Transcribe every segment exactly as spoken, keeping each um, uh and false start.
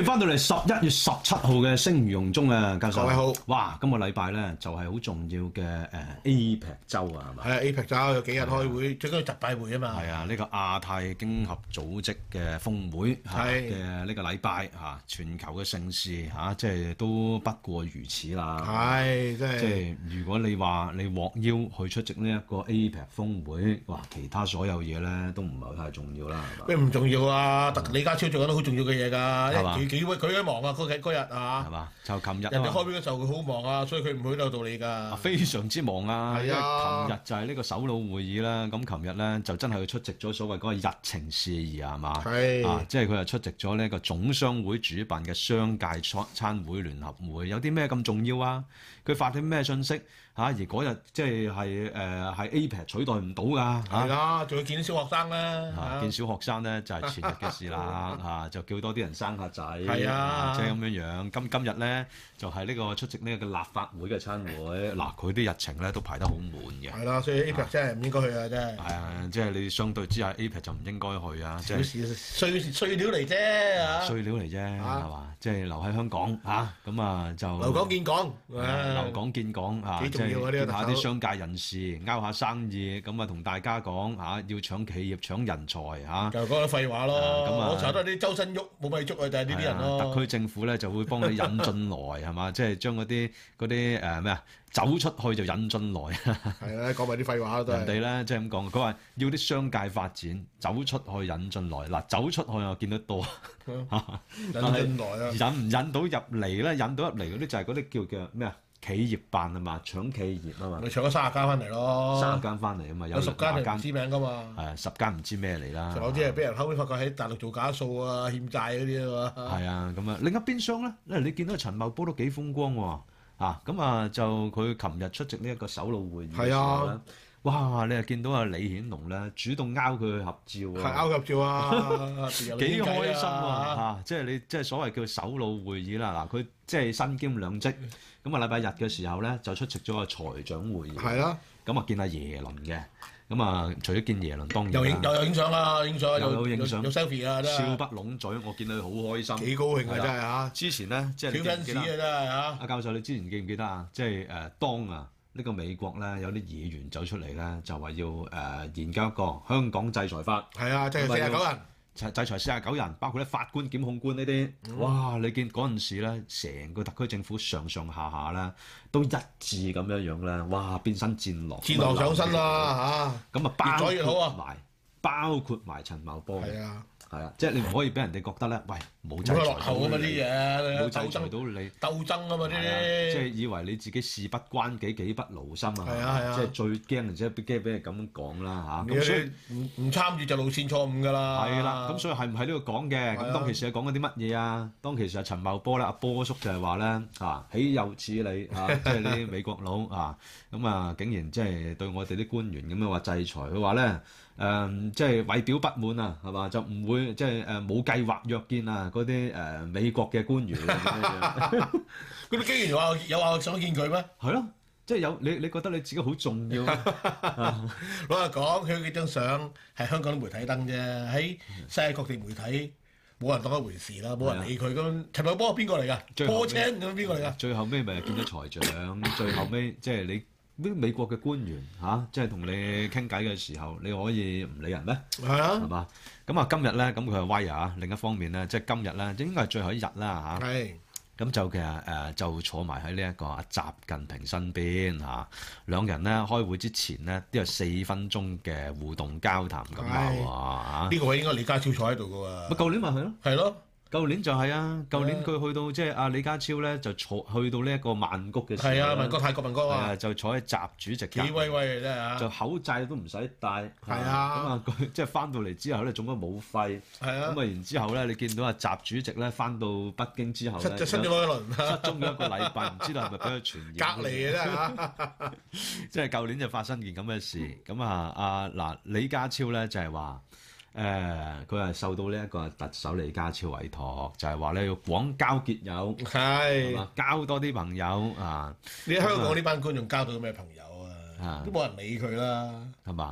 迎翻到嚟十一月十七號嘅聲如洪鐘啊，教授。 各位好。 哇，今個禮拜咧就係好重要嘅誒 A P E C 週啊，係嘛？ 係啊 A P E C 週有幾日開會，最緊要集拜會啊嘛。 係啊，呢個亞太經合組織嘅峰會嘅呢個禮拜嚇，全球嘅盛事嚇，即係都不過如此啦。 係，即係。 即係如果你話你獲邀去出席呢一個 A P E C 峰會，哇，其他所有嘢咧都唔係太重要啦，係嘛？ 咩唔重要啊？特李家超做緊都好重要嘅嘢㗎， 係嘛？ 幾幾佢幾忙啊？嗰幾嗰日啊， 係嘛？就琴日人哋開會嘅時候佢好忙啊，所以佢唔去都有道理㗎。 非常之忙啊！ 係啊， 因為琴日就係呢個首腦會議啦。咁琴日咧就真係去出席咗所謂嗰個日程事宜啊，係嘛？ 係啊，即係佢係出席咗呢個總商會主辦嘅商界餐餐會聯合會，有啲咩咁重要啊？佢發啲咩信息嚇？而嗰日即係係誒係 A P E C 取代唔到㗎。 係啦，仲要見小學生咧。 嚇，見小學生咧就係前日嘅事啦。嚇，就叫多啲人生下仔。 係啊， 即係咁樣樣。今今日咧就係呢個出席呢個立法會嘅餐會。嗱，佢啲日程咧都排得好滿嘅。 係啦，所以 A P E C 真係唔應該去啊！真係。 係啊，即係你相對之下 A P E C 就唔應該去啊。即係碎碎料嚟啫嚇。 碎料嚟啫，係嘛？即係留喺香港嚇，咁啊就留港見港。 留港見港嚇，即係見下啲商界人士，勾下生意，咁啊同大家講嚇，要搶企業、搶人才嚇。 就講啲廢話咯。咁啊，我查都係啲周身喐冇米粥啊，就係呢啲人咯。 特區政府咧就會幫你引進來係嘛，即係將嗰啲嗰啲誒咩啊走出去就引進來。 係啦，講埋啲廢話都係。人哋咧即係咁講，佢話要啲商界發展，走出去引進來。嗱，走出去我見得多引進來啊！ 引唔引到入嚟咧？引到入嚟嗰啲就係嗰啲叫叫咩啊？企業辦啊嘛，搶企業啊嘛， 咪搶咗三十間翻嚟咯， 三十間翻嚟啊嘛， 有十間係唔知名噶嘛， 係啊，十間唔知咩嚟啦， 仲有啲係俾人後尾發覺喺大陸做假數啊、欠債嗰啲啊嘛， 係啊，咁啊，另一邊廂咧，咧你見到陳茂波都幾風光喎，啊，咁啊就佢琴日出席呢一個首腦會議嘅時候咧。哇！你又見到阿李顯龍咧，主動勾佢去合照啊， 係勾合照啊， 幾開心啊！嚇，即係你即係所謂叫首腦會議啦。嗱，佢即係身兼兩職，咁啊禮拜日嘅時候咧就出席咗個財長會議， 係啦， 咁啊見阿耶倫嘅，咁啊除咗見耶倫當然又影又有影相啦，影相又有影相， 有 selfie 啊， 笑不攏嘴，我見到佢好開心， 幾高興啊真係嚇！ 之前咧即係小紳士啊真係嚇！ 阿教授你之前記唔記得啊？即係誒當啊。呢個美國咧有啲議員走出嚟咧，就話要誒、呃、研究一個香港制裁法。 係啊，制裁四十九人， 制制裁四十九人，包括咧法官、檢控官呢啲。嗯、哇！你見嗰陣時咧，成個特區政府上上下下咧都一致咁樣樣咧，哇！變身戰狼， 戰狼上身啦嚇！咁啊，越咗越好啊！ 埋包括埋陳茂波。 係啊。 係啊，即係你唔可以俾人哋覺得咧，喂冇制裁落後啊嘛啲嘢， 冇制裁到你鬥爭啊嘛呢啲， 即係以為你自己事不關己，己不勞心啊， 係啊係啊， 即係最驚，即係驚俾人咁講啦嚇。 咁所以唔唔參與就路線錯誤㗎啦。 係啦，咁所以係唔喺呢度講嘅？咁當其時係講緊啲乜嘢啊？當其時係陳茂波咧，阿波叔就係話咧啊，豈有此理啊！即係啲美國佬啊，咁啊竟然即係對我哋啲官員咁樣話制裁，佢話咧。誒、嗯，即係為表不滿啊，係嘛？就唔會即係誒冇計劃約見啊嗰啲誒美國嘅官員。 嗰啲官員有話有話想見佢咩？ 係咯，即係有你你覺得你自己好重要。 老實講，佢幾張相係香港啲媒體登啫，喺世界各地媒體冇人當一回事啦，冇人理佢咁。陳茂波係邊個嚟㗎？波青咁邊個嚟㗎？ 最後尾咪見咗財長，最後尾即係你。啲美國嘅官員嚇、啊，即係同你傾偈嘅時候，你可以唔理人咩？ 係啊， 係嘛？咁啊，今日咧，咁佢係威啊！另一方面咧，即係今日咧，應該係最後一日啦嚇。係、啊。咁就其實誒、呃，就坐埋喺呢一個阿習近平身邊嚇、啊，兩人咧開會之前咧都有四分鐘嘅互動交談咁啊喎。 呢個位應該李家超坐喺度㗎喎。 咪舊年咪係咯。係咯。舊年就係啊，舊年佢去到即係阿李家超咧，就坐去到呢一個曼谷嘅時候， 係啊，曼谷泰國曼谷啊， 就坐喺習主席幾威威啊真係啊， 就口罩都唔使戴， 係啊， 咁啊佢即係翻到嚟之後咧，中咗武肺，係啊，咁啊然之後咧，你見到阿習主席咧翻到北京之後咧， 失失咗一輪， 失蹤咗一個禮拜，唔知道係咪俾佢傳染？ 隔離嘅啫嚇， 即係舊年就發生件咁嘅事，咁啊阿嗱李家超咧就係話。誒，佢係、呃、受到呢一個特首李家超委託，就係話咧要廣交結友，係嘛，交多啲朋友啊！ 你喺香港呢班官仲交到咩朋友啊？ 啊都冇人理佢啦， 係嘛？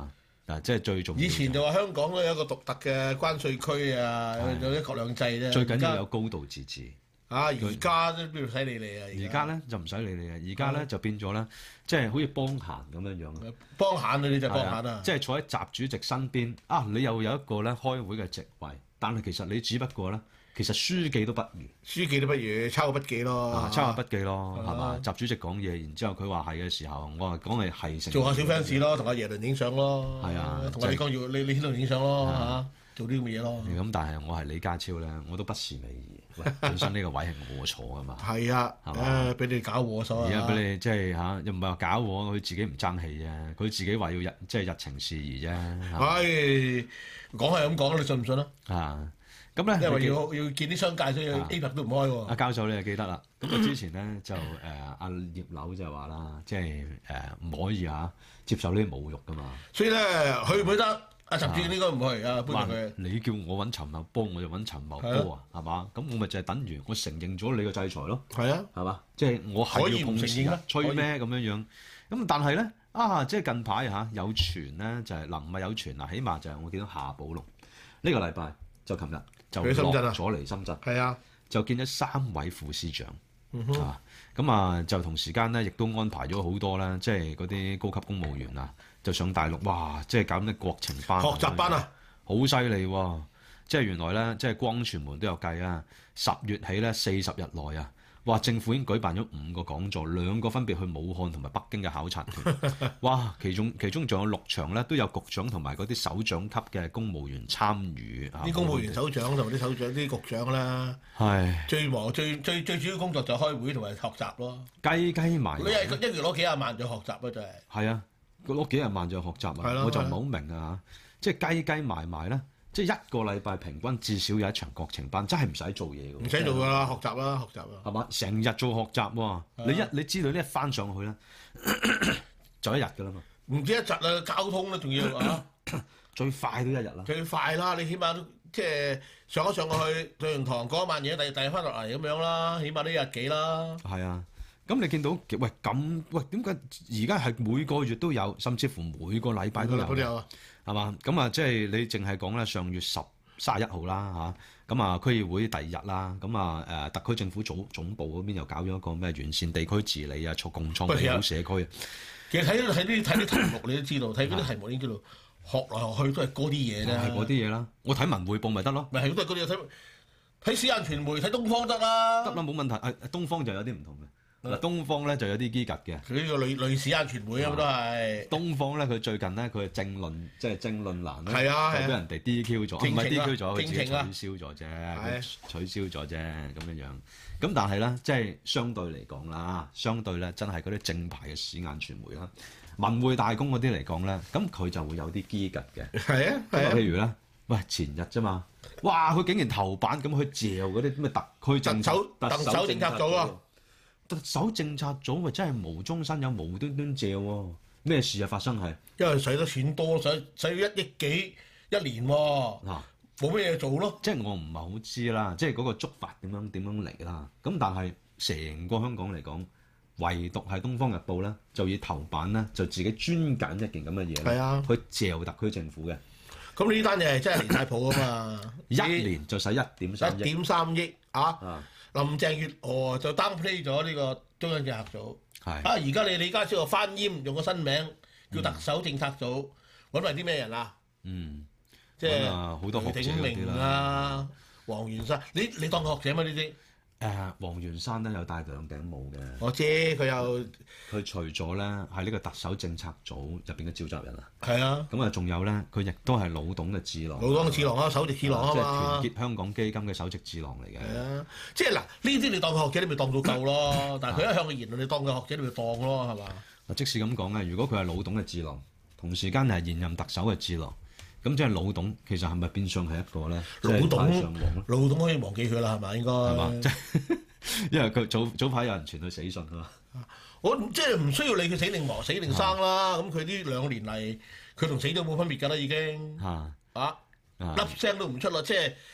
嗱，即係最重要。 以前就話香港咧有一個獨特嘅關稅區啊，有一國兩制啫。 最緊要有高度自治。 啊！而家都邊度使理你啊？ 而家咧就唔使理你啊！而家咧就變咗咧，即係好似幫閒咁樣樣。 幫閒啊！你就幫閒啊！ 即係坐喺習主席身邊啊！你又有一個咧開會嘅席位，但係其實你只不過咧，其實書記都不如。 書記都不如，抄個筆記咯。 啊、抄下筆記咯，係嘛？習主席講嘢，然之後佢話係嘅時候，我話講係係成。 做下小 fans 咯，同阿耶倫影相咯。 係啊， 同阿李光耀、李李顯龍影相咯嚇，做啲咁嘅嘢咯。 咁但係我係李家超咧，我都不是味兒。喂，本身呢個位係我坐噶嘛。係啊，誒俾你搞禍所啊！ 而家俾你即係嚇，又唔係話搞禍，佢自己唔爭氣啫。佢自己話要日即係日程事宜啫。 唉，講係咁講，你信唔信啊？ 啊，咁咧， 因為要要見啲商界，所以 A 股都唔開喎。 阿教授你就記得啦。咁啊之前咧就誒阿葉劉就話啦，即係誒唔可以嚇接受呢啲侮辱噶嘛。 所以咧，去唔去得？阿陳志應該唔去啊，搬入去。 你叫我揾陳茂波，我就揾陳茂波啊，係嘛？咁我咪就係等於我承認咗你嘅制裁咯。 係啊， 係嘛？即係我係要碰瓷啊，吹咩咁樣樣？咁但係咧啊，即係近排嚇有傳咧，就係嗱唔係有傳啊，起碼就係我見到夏寶龍呢個禮拜就琴日就落咗嚟深圳。 係啊， 就見咗三位副司長。 嗯哼啊，咁啊就同時間咧，亦都安排咗好多啦，即係嗰啲高級公務員啊，就上大陸，哇！即係搞咩國情班、 學習班啊， 好犀利喎！即係原來咧，即係光傳媒都有計啊，十月起咧四十日內啊，哇！政府已經舉辦咗五個講座，兩個分別去武漢同埋北京嘅考察團，哇！其中其中仲有六場咧，都有局長同埋嗰啲首長級嘅公務員參與。 啲公務員首長同埋啲首長、啲局長啦，係最忙、最最最主要工作就係開會同埋學習咯。 雞雞埋， 你係一月攞幾廿萬就學習啊！真係。係啊，佢攞幾廿萬就學習啊！我就唔係好明啊，即係雞雞埋埋咧。即係一個禮拜平均至少有一場國情班，真係唔使做嘢㗎。 唔使做㗎啦，學習啦，學習啦。 係嘛？成日做學習喎，你一你知道呢一翻上去咧，就一日㗎啦嘛。 唔止一日啊，交通咧仲要啊， 最快都一日啦。 最快啦，你起碼都即係上咗上去上完堂講一晚嘢，第第日翻落嚟咁樣啦，起碼都一日幾啦。 係啊，咁你見到喂咁喂點解而家係每個月都有，甚至乎每個禮拜都有？ 都有啊。 係嘛？咁啊，即係你淨係講咧，上月十三十一號啦嚇，咁啊區議會第二日啦，咁啊誒特區政府總總部嗰邊又搞咗一個咩完善地區治理啊，促共創美好社區啊。 其實睇睇啲睇啲題目你都知道，睇嗰啲題目你已經知道，學來學去都係嗰啲嘢啫。 係嗰啲嘢啦，我睇文匯報咪得咯。 咪係都係嗰啲嘢，睇睇私人傳媒睇東方得啦。 得啦，冇問題。誒東方就有啲唔同嘅。嗱，東方咧就有啲機格嘅， 佢呢個類類似間傳媒啊，都係。東方咧，佢最近咧，佢係政論，即係政論欄咧， 係啊， 就俾人哋 D Q 咗，唔係 D Q 咗，佢自己取消咗啫， 係取消咗啫，咁樣樣。咁但係咧，即係相對嚟講啦，相對咧，真係嗰啲正牌嘅屎眼傳媒啦，文匯大公嗰啲嚟講咧，咁佢就會有啲機格嘅。 係啊，係啊。 譬如咧，喂，前日啫嘛，哇，佢竟然頭版咁去嚼嗰啲咩特區政策、 特首政策組啊！ 特首政策組咪真係無中生有，無端端借喎，咩事啊發生係？ 因為使得錢多，使使咗一億幾一年喎，嗱冇咩嘢做咯。 即係我唔係好知啦，即係嗰個觸發點樣點樣嚟啦。咁但係成個香港嚟講，唯獨係《東方日報》咧，就以頭版咧就自己專揀一件咁嘅嘢，係啊，去嚼特區政府嘅。 咁呢單嘢係真係離晒譜啊嘛！ 一年就使一點三億， 一點三億啊！ 啊林鄭月娥就 downplay 咗呢個中央政策組， 係啊！而家你李家超又翻閹，用個新名叫特首政策組，揾埋啲咩人啊？ 嗯， 即係好多學者雷鼎明啊、黃元山，你你當個學者咩呢啲？ 誒，黃元山咧有戴兩頂帽嘅。 我知佢又佢除咗咧係呢個特首政策組入邊嘅召集人啊， 係啊， 咁啊仲有咧，佢亦都係老董嘅智囊， 老董嘅智囊啊，首席智囊啊嘛， 即係團結香港基金嘅首席智囊嚟嘅。 係啊，即係嗱，呢啲你當佢學者，你咪當到夠咯。但係佢一向嘅言論，你當佢學者，你咪當咯，係嘛？ 嗱，即使咁講咧，如果佢係老董嘅智囊，同時間係現任特首嘅智囊，咁即係老董其實係咪變相係一個咧？ 老董，老董可以忘記佢啦，係咪應該？係嘛？ 因為佢早早排有人傳佢死訊啊嘛， 我即係唔需要理佢死定亡、死定生啦。咁佢呢兩年嚟，佢同死都冇分別㗎啦，已經啊啊粒聲都唔出啦。即係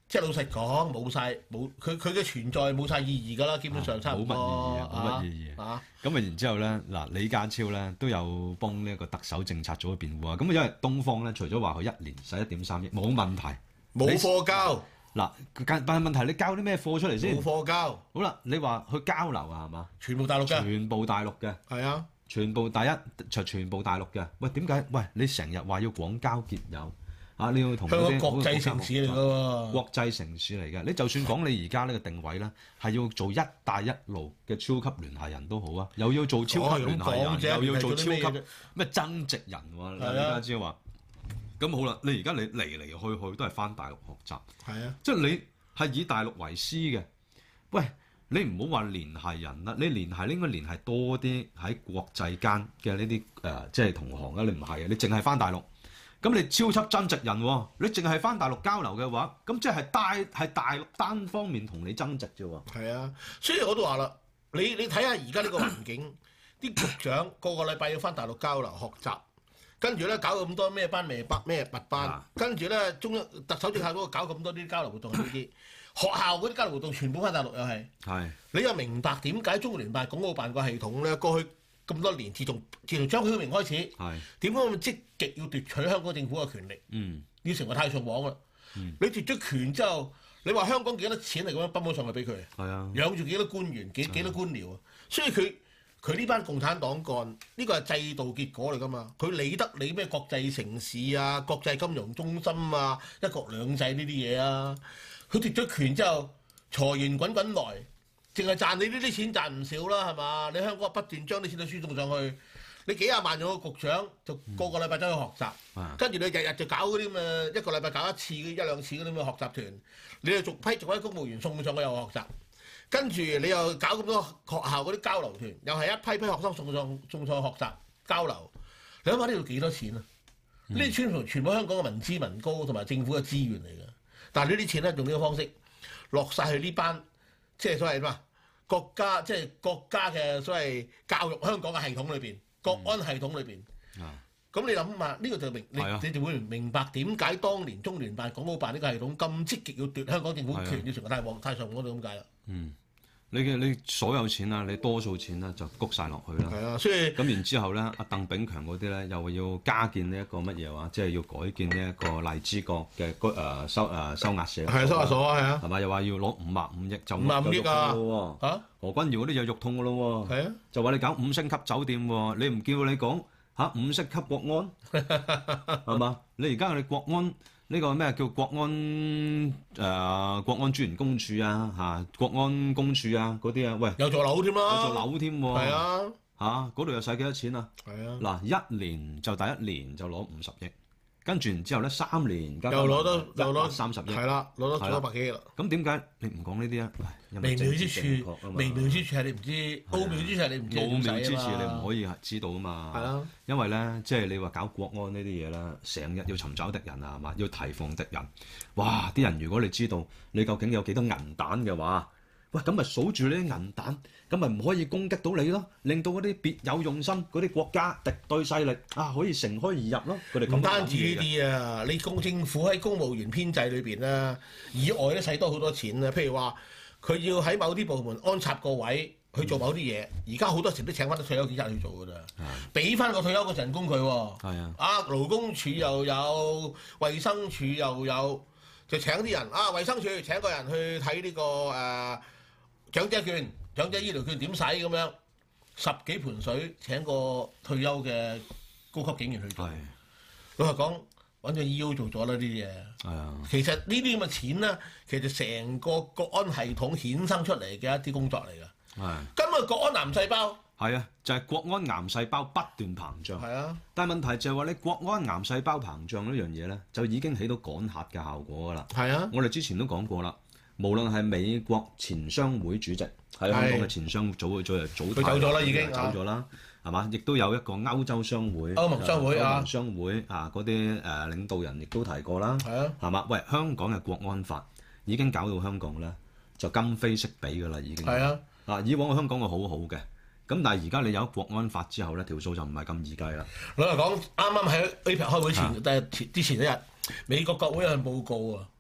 即係老實講冇晒冇佢佢嘅存在冇晒意義㗎啦，基本上差唔多冇乜意義啊，冇乜意義啊。 咁啊，然之後咧，嗱，李家超咧都有幫呢一個特首政策做咗辯護啊。咁因為東方咧，除咗話佢一年使一點三億，冇問題， 冇貨交。 嗱，但係問題你交啲咩貨出嚟先？ 冇貨交。 好啦，你話去交流啊，係嘛？ 全部大陸嘅。 全部大陸嘅。 係啊。 全部第一就全部大陸嘅。喂，點解？喂，你成日話要廣交結友啊？你要同香港國際城市嚟㗎喎。 國際城市嚟嘅，你就算講你而家呢個定位咧，係要做一帶一路嘅超級聯繫人都好啊，又要做超級聯繫人，哦、又要做超級咩增值人喎？李家超話。咁好啦，你而家你嚟嚟去去都係翻大陸學習， 係啊， 即係你係以大陸為師嘅。喂，你唔好話聯繫人啦，你聯繫你應該聯繫多啲喺國際間嘅呢啲誒，即係同行啊！你唔係啊，你淨係翻大陸，咁你超級增值人喎，你淨係翻大陸交流嘅話，咁即係大係大陸單方面同你增值啫喎。 係啊，所以我都話啦，你你睇下而家呢個環境，啲局長個個禮拜要翻大陸交流學習。跟住咧搞咁多咩班咩班咩物班，啊、跟住咧中央特首政策嗰度搞咁多啲交流活動呢啲，學校嗰啲交流活動全部翻大陸又係。係是。你又明白點解中聯辦、港澳辦個系統咧過去咁多年，自從自從張曉明開始，係點解咁積極要奪取香港政府嘅權力？嗯。要成為太上皇啦。嗯。你奪咗權之後，你話香港幾多錢嚟咁樣泵咗上去俾佢？係啊。養住幾多官員、幾幾多官僚啊？所以佢。佢呢班共產黨幹，呢個係制度結果嚟㗎嘛？佢理得你咩國際城市啊、國際金融中心啊、一國兩制呢啲嘢啊？佢奪咗權之後，財源滾滾來，淨係賺你呢啲錢賺唔少啦，係嘛？你香港不斷將啲錢都輸送上去，你幾廿萬做個局長，就個個禮拜走去學習，嗯、跟住你日日就搞嗰啲咁嘅一個禮拜搞一次、一兩次嗰啲咁嘅學習團，你又逐批逐批公務員送上去又學習。跟住你又搞咁多學校嗰啲交流團，又係一批批學生送上送上去學習交流。你諗下呢度幾多錢啊？呢啲全部全部香港嘅民脂民膏同埋政府嘅資源嚟嘅。但係呢啲錢咧用呢個方式落晒去呢班即係所謂咩啊國家即係國家嘅所謂教育香港嘅系統裏邊，國安系統裏邊。咁、嗯、你諗下呢個就明你你就會明白點解當年中聯辦、港澳辦呢個系統咁積極要奪香港政府權，要成個太皇太上皇嗰度咁解啦。嗯， 你嘅你所有錢啦，你多數錢啦就谷晒落去啦。 係啊，所以咁然之後咧，阿鄧炳強嗰啲咧又要加建呢一個乜嘢話，即係要改建呢一個荔枝角嘅居誒收誒收押社。 係啊，收押所啊，係啊。係咪又話要攞五萬五億就五萬五億啊？嚇、啊！ 何君堯嗰啲有肉痛噶咯喎。係啊。就話你搞五星級酒店喎，你唔叫你講嚇五星級國安係嘛？你而家我哋國安。呢個咩叫國安誒、呃、國安專員公署啊嚇國安公署啊嗰啲啊喂有座樓添啦， 有座樓添喎係啊嚇嗰度又使幾多錢啊？ 係啊嗱一年就第一年就攞五十億，跟住然之後咧三年又攞多又攞三十億，係啦攞多咗百幾億啦。 咁點解你唔講呢啲啊？ 微妙之處，微妙之處係你唔知，奧妙之處係你唔知。 奧妙之處你唔可以知道啊嘛。 係啊， 因為咧，即係你話搞國安呢啲嘢啦，成日要尋找敵人啊，係嘛？要提防敵人。哇！啲人如果你知道你究竟有幾多銀彈嘅話，喂咁咪數住呢啲銀彈，咁咪唔可以攻擊到你咯，令到嗰啲別有用心嗰啲國家敵對勢力啊可以乘虛而入咯。佢哋唔單止呢啲啊，你公政府喺公務員編制裏邊咧，以外都使多好多錢啊。譬如話佢要喺某啲部門安插個位去做某啲嘢，而家好多時都請翻啲退休警察去做㗎咋，俾翻個退休嘅人工佢喎。係啊，啊勞工處又有，衛生署又有，就請啲人啊，衛生署請個人去睇呢、這個誒。呃長者券、長者醫療券點使咁樣，十幾盤水請個退休嘅高級警員去做。老實講，揾個 E O 做咗啦呢啲嘢。係啊，其實呢啲咁嘅錢咧，其實成個國安系統衍生出嚟嘅一啲工作嚟㗎。係。今日國安癌細胞。係啊，就係、是、國安癌細胞不斷膨脹。 係啊。 但係問題就係話你國安癌細胞膨脹呢樣嘢咧，就已經起到趕客嘅效果㗎啦。 係啊。 我哋之前都講過啦。無論係美國錢商會主席喺香港嘅錢商組嘅組啊，組佢走咗啦，已經走咗啦，係嘛？亦都有一個歐洲商會、 歐盟商會啊、 歐盟商會啊嗰啲誒領導人亦都提過啦，係啊，係嘛？喂，香港嘅國安法已經搞到香港咧就今非昔比㗎啦，已經係啊。嗱，以往嘅香港係好好嘅，咁但係而家你有國安法之後咧，條數就唔係咁易計啦。 老實講，啱啱喺 A P E C 開會前，但係、啊、之前一日，美國國會有份報告啊。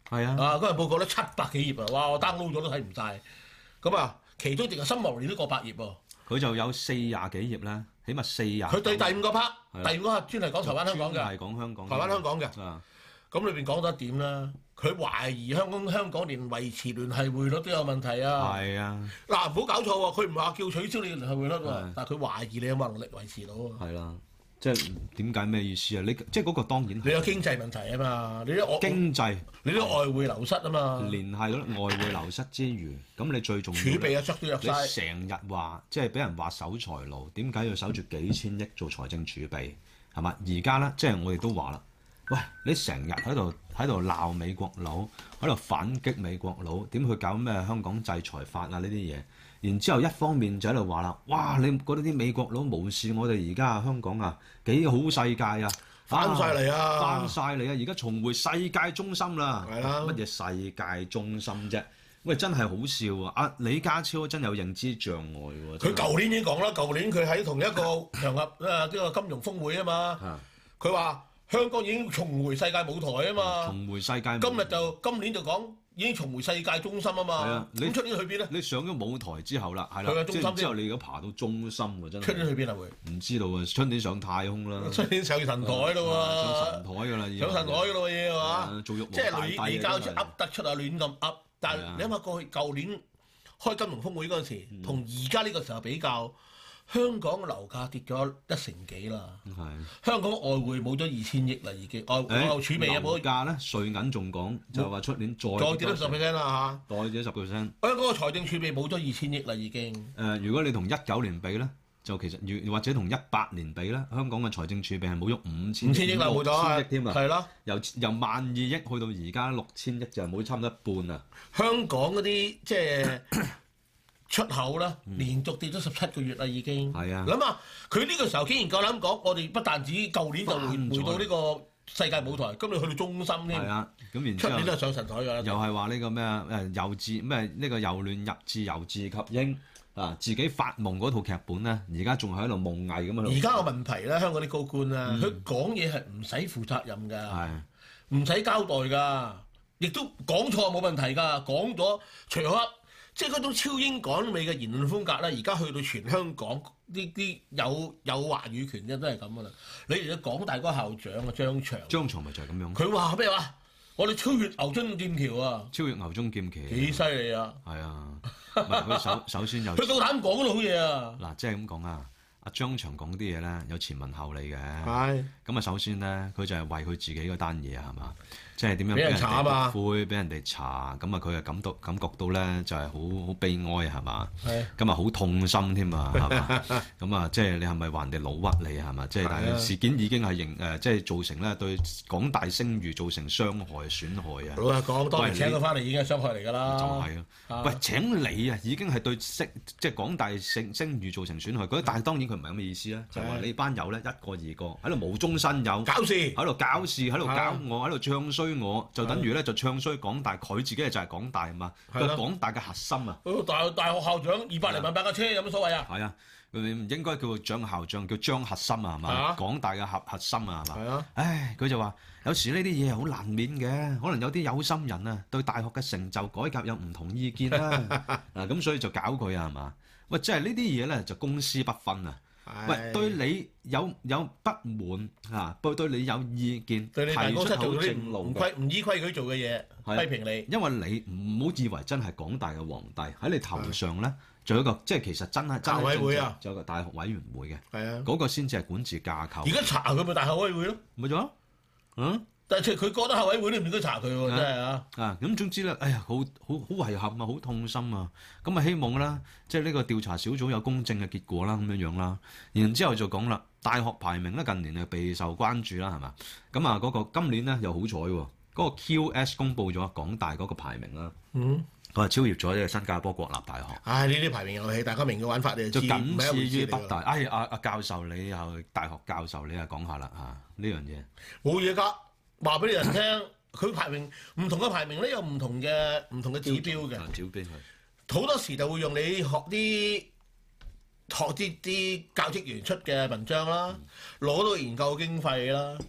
係啊， 啊嗰份報告咧七百幾頁啊，哇！我 download 咗都睇唔晒。咁啊，其中淨係新聞年都過百頁喎。 佢就有四廿幾頁啦，起碼四廿。 佢對第五個 part，第五個 part 專係講台灣香港嘅， 係講香港， 台灣香港嘅。 啊， 咁裏邊講咗一點啦，佢懷疑香港香港連維持聯繫匯率都有問題啊。 係啊， 嗱唔好搞錯喎，佢唔係話叫取消你聯繫匯率喎，但係佢懷疑你有冇能力維持到啊。 係啦。即係點解咩意思啊？你即係嗰個當然你有經濟問題啊嘛，你啲經濟， 你啲外匯流失啊嘛， 聯繫嗰啲外匯流失之餘，咁你最重要儲備啊，縮都入晒。 你成日話即係俾人話守財奴，點解要守住幾千億做財政儲備係嘛？而家咧即係我哋都話啦，喂，你成日喺度喺度鬧美國佬，喺度反擊美國佬，點去搞咩香港制裁法啊呢啲嘢？然之後一方面就喺度話啦，哇！你覺得啲美國佬無視我哋而家香港啊幾好世界啊， 翻晒嚟啊， 翻晒嚟啊！而家重回世界中心啦， 係啦， 乜嘢世界中心啫？喂，真係好笑啊！阿李家超真有認知障礙喎。 佢舊年已經講啦，舊年佢喺同一個場合啊，呢個金融峰會啊嘛，佢話香港已經重回世界舞台啊嘛， 重回世界。 今日就今年就講。已經重回世界中心啊嘛，咁出年去邊咧？ 你上咗舞台之後啦，係啦，即係之後你而家爬到中心喎，真係。 出年去邊啊會？ 唔知道啊，出年上太空啦。 出年上神台咯喎， 上神台㗎啦， 上神台㗎咯嘢係嘛？ 做玉即係你你交出噏得出啊，亂咁噏。但係你諗下過去舊年開金融峰會嗰陣時，同而家呢個時候比較。香港嘅樓價跌咗一成幾啦，香港外匯冇咗二千億啦已經，外外儲備有冇？ 樓價咧，瑞銀仲講就話出年再再跌多十 percent 啦嚇， 再跌十 percent。 香港個財政儲備冇咗二千億啦已經。 誒，如果你同一九年比咧，就其實如或者同一八年比咧，香港嘅財政儲備係冇咗五千五千億啦，冇咗億添啊， 係咯， 由由萬二億去到而家六千億就係冇差唔多一半啊。 香港嗰啲即係。出口啦，連續跌咗十七個月啦，已經。係啊，諗下佢呢個時候竟然夠膽講，我哋不但止舊年就回回到呢個世界舞台，今年去到中心添。係啊，咁然之後出年都係上神台㗎啦。又係話呢個咩啊？誒由自咩呢個由亂入治，由治及興啊！自己發夢嗰套劇本咧，而家仲喺度夢囈咁樣。而家個問題咧，香港啲高官啊，佢講嘢係唔使負責任㗎，唔使交代㗎，亦都講錯冇問題㗎，講咗除咗。即係嗰種超英趕美嘅言論風格咧，而家去到全香港呢啲有有話語權嘅都係咁噶啦。你嚟到港大嗰個校長啊張翔，張翔咪就係咁樣。佢話咩話？我哋超越牛津劍橋啊！超越牛津劍橋幾犀利啊！係啊，唔係佢首首先有佢夠膽講到好嘢啊！嗱，即係咁講啊，阿張翔講啲嘢咧有前文後理嘅。係。咁啊，首先咧，佢就係為佢自己嗰單嘢啊，係嘛？即係點樣俾人查啊？灰俾人哋查，咁啊佢啊感到感覺到咧就係好好悲哀係嘛？係。咁啊好痛心添啊係嘛？咁啊即係你係咪話人哋老屈你係嘛？即係但係事件已經係形誒即係造成咧對港大聲譽造成傷害損害啊！老實講，當年請佢翻嚟已經係傷害嚟㗎啦。就係啊！喂，請你啊已經係對聲即係港大聲聲譽造成損害。嗰但係當然佢唔係咁嘅意思啦，就係話你班友咧一個二個喺度無中生有，搞事喺度搞事喺度搞我喺度唱衰。我就等於咧就唱衰港大，佢自己就係港大啊嘛，佢係港大嘅核心啊。大大學校長二百零萬買架車有乜所謂啊？係啊，佢唔應該叫張校長，叫張核心啊，係嘛？港大嘅核核心啊，係嘛？係啊。唉，佢就話有時呢啲嘢係好難免嘅，可能有啲有心人啊對大學嘅成就改革有唔同意見啦。嗱咁所以就搞佢啊，係嘛？喂，即係呢啲嘢咧就公私不分啊。喂，對你有有不滿嚇，對對你有意見，提出好正路嘅，唔依規矩做嘅嘢，批評你。因為你唔好以為真係港大嘅皇帝喺你頭上咧，仲有一個即係其實真係真係委會啊，仲有個大學委員會嘅，係啊，嗰個先至係管治架構。而家查佢咪大學委員會咯，咪咗，嗯。但係佢覺得校委會都唔應該查佢喎，真係啊！啊咁總之咧，哎呀，好好好遺憾啊，好痛心啊！咁啊希望啦，即係呢個調查小組有公正嘅結果啦，咁樣樣啦。然之後就講啦，大學排名咧近年係備受關注啦，係嘛？咁啊嗰個今年咧又好彩喎，嗰個 Q S 公佈咗港大嗰個排名啦。嗯。佢係超越咗呢個新加坡國立大學。唉，呢啲排名遊戲，大家明嘅玩法你就知。就僅次於北大。哎，阿阿教授你又大學教授你又講下啦嚇呢樣嘢。冇嘢㗎。話俾你人聽，佢排名唔同嘅排名咧，有唔同嘅唔同嘅指標嘅。指標係好多時就會用你學啲學啲啲教職員出嘅文章啦，攞到研究經費啦，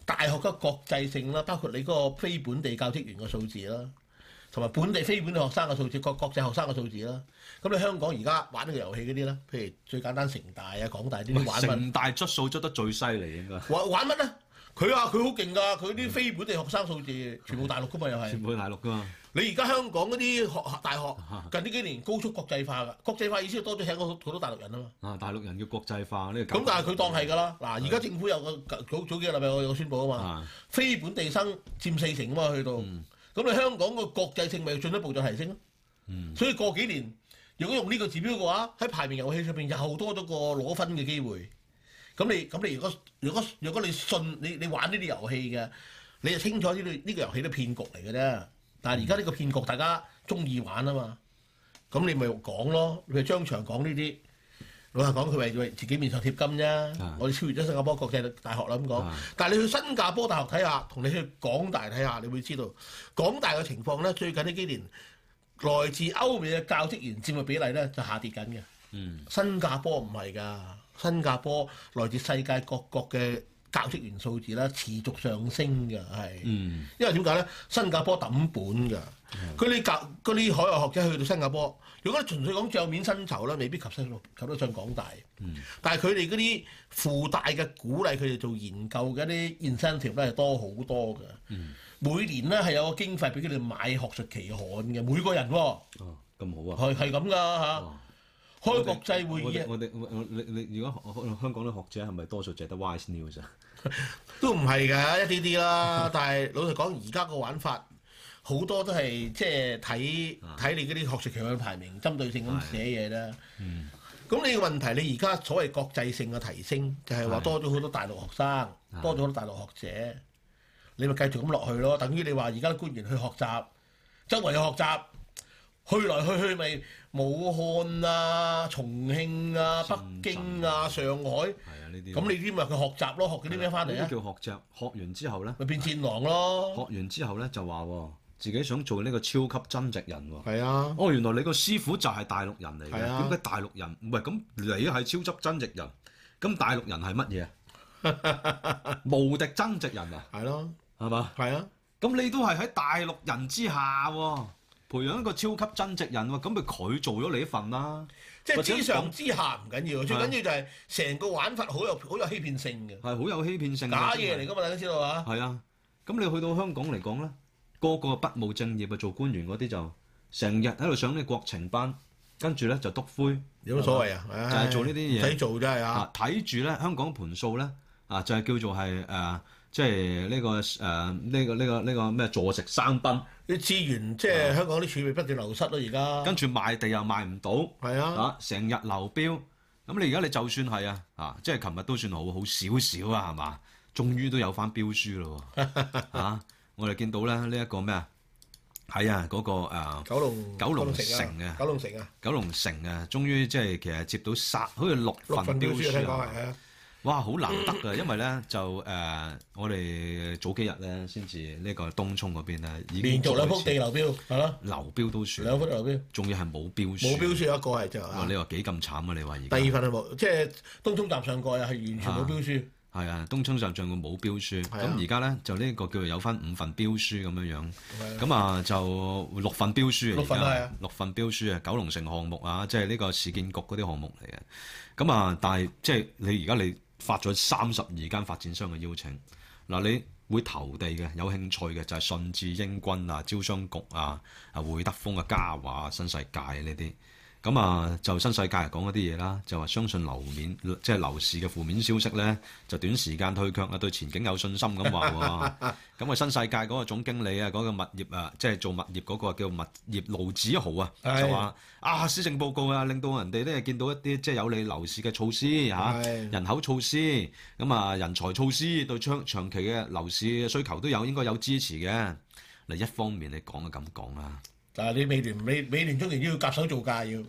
大學嘅國際性啦，包括你嗰個非本地教職員嘅數字啦，同埋本地非本地學生嘅數字，國國際學生嘅數字啦。咁你香港而家玩呢個遊戲嗰啲咧，譬如最簡單城大啊、港大呢啲玩乜？ 城大質素質得最犀利應該。 玩玩乜咧？佢話佢好勁㗎，佢啲非本地學生數字全部大陸㗎嘛，又係。 全部大陸㗎嘛。 你而家香港嗰啲學大學近呢幾年高速國際化㗎，國際化意思多咗請好多大陸人啊嘛。 啊，大陸人叫國際化呢個。 咁但係佢當係㗎啦。嗱，而家政府有個早早幾個禮拜我有個宣佈啊嘛，非本地生佔四成啊嘛，去到。咁你香港個國際性咪要進一步再提升咯。所以過幾年，如果用呢個指標嘅話，喺排名遊戲上邊又多咗個攞分嘅機會。咁你咁你如果如果如果你信你你玩呢啲遊戲嘅，你就清楚呢啲呢個遊戲都騙局嚟嘅啫。但係而家呢個騙局大家中意玩啊嘛，咁你咪講咯，你咪張長講呢啲。老實講，佢為為自己面上貼金啫。啊、我哋超越咗新加坡國際大學啦咁講。啊、但係你去新加坡大學睇下，同你去港大睇下，你會知道港大嘅情況咧，最近呢幾年來自歐美嘅教職員佔嘅比例咧就下跌緊嘅。嗯、新加坡唔係㗎，新加坡來自世界各國嘅教職員數字咧持續上升㗎，係。嗯、因為點解咧？新加坡抌本㗎，佢啲教嗰啲海外學者去到新加坡。如果你純粹講帳面薪酬咧，未必及得及得上港大。嗯、但係佢哋嗰啲附帶嘅鼓勵佢哋做研究嘅啲 incentive 咧係多好多嘅。嗯、每年咧係有個經費俾佢哋買學術期刊嘅，每個人喎。 哦，咁好啊。係係咁㗎嚇。哦、開國際會議。 我哋我我你你如果香港啲學者係咪多數淨係得 Wise News 啊？ 都唔係㗎，一啲啲啦。但係老實講，而家個玩法。好多都係即係睇睇你嗰啲學術期刊排名，針對性咁寫嘢啦。咁、嗯、你個問題，你而家所謂國際性嘅提升，就係、是、話多咗好多大陸學生，的多咗好多大陸學者，你咪繼續咁落去咯。等於你話而家啲官員去學習，周圍去學習，去來去去咪武漢啊、重慶啊、北京啊、上海。係啊，呢啲。咁你啲咪去學習咯？學嗰啲咩翻嚟啊？ 叫學習，學完之後咧， 咪變戰狼咯。 學完之後咧就話喎。自己想做呢個超級真直人喎， 係啊！ 哦，原來你個師傅就係大陸人嚟嘅，點解、啊、大陸人唔係咁？你係超級真直人，咁大陸人係乜嘢啊？無敵真直人啊！ 係咯， 係嘛？ 係啊！ 咁你都係喺大陸人之下喎，培養一個超級真直人喎，咁咪佢做咗你一份啦。 即係之上之下唔緊要，最緊要就係成個玩法好有好有欺騙性嘅， 係好有欺騙性， 假嘢嚟㗎嘛，大家知道啊？ 係啊，咁你去到香港嚟講咧？個個不務正業啊，做官員嗰啲就成日喺度上啲國情班，跟住咧就篤灰， 有乜所謂啊？ 就係做呢啲嘢， 唔使做真係啊！ 睇住咧香港盤數咧啊，就係叫做係誒，即係呢個誒呢個呢個呢個咩坐食山崩啲資源，即係香港啲儲備不斷流失咯，而家跟住賣地又賣唔到， 係啊， 啊成日流標，咁你而家你就算係啊啊，即係琴日都算好好少少啊，係嘛？終於都有翻標書咯喎，啊！我哋見到咧呢一個咩啊？係啊，嗰個誒九龍九龍城啊， 九龍城啊， 九龍城啊，終於即係其實接到三好似六份標書啊！哇，好難得㗎，因為咧就誒我哋早幾日咧先至呢個東涌嗰邊咧已經連續兩幅地流標係咯， 流標都算兩幅流標， 仲要係冇標書， 冇標書一個係就哇！你話幾咁慘啊？你話而家第二份係冇，即係東涌站上蓋啊，係完全冇標書。 係啊，東涌站上個冇標書，咁而家咧就呢個叫做有翻五份標書咁樣樣，咁啊就六份標書啊， 六份係啊， 六份標書啊，九龍城項目啊，即係呢個市建局嗰啲項目嚟嘅，咁啊，但係即係你而家你發咗三十二間發展商嘅邀請，嗱你會投地嘅有興趣嘅就係信置英軍啊、招商局啊、啊會德豐啊、嘉華、新世界呢啲。咁啊，就新世界嚟講嗰啲嘢啦，就話相信樓面即係樓市嘅負面消息咧，就短時間退卻啊，對前景有信心咁話喎。咁啊，新世界嗰個總經理啊，嗰、嗰個物業啊，即係做物業嗰個叫物業盧子豪啊，是就話啊，施政報告啊，令到人哋咧見到一啲即係有利樓市嘅措施嚇，是人口措施，咁啊人才措施對長長期嘅樓市嘅需求都有應該有支持嘅。嗱，一方面你講就咁講啦。 但係你美聯美美聯中年要夾手做價要，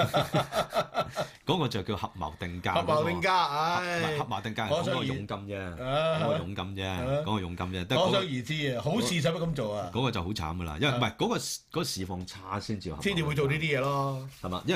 嗰個就叫合謀定價。 合謀定價，唉， 合謀定價係講個佣金啫，講個佣金啫，講個佣金啫。 可想而知啊，好事使乜咁做啊？ 嗰個就好慘噶啦，因為唔係嗰個嗰個市況差先至合。 先至會做呢啲嘢咯， 係嘛？因為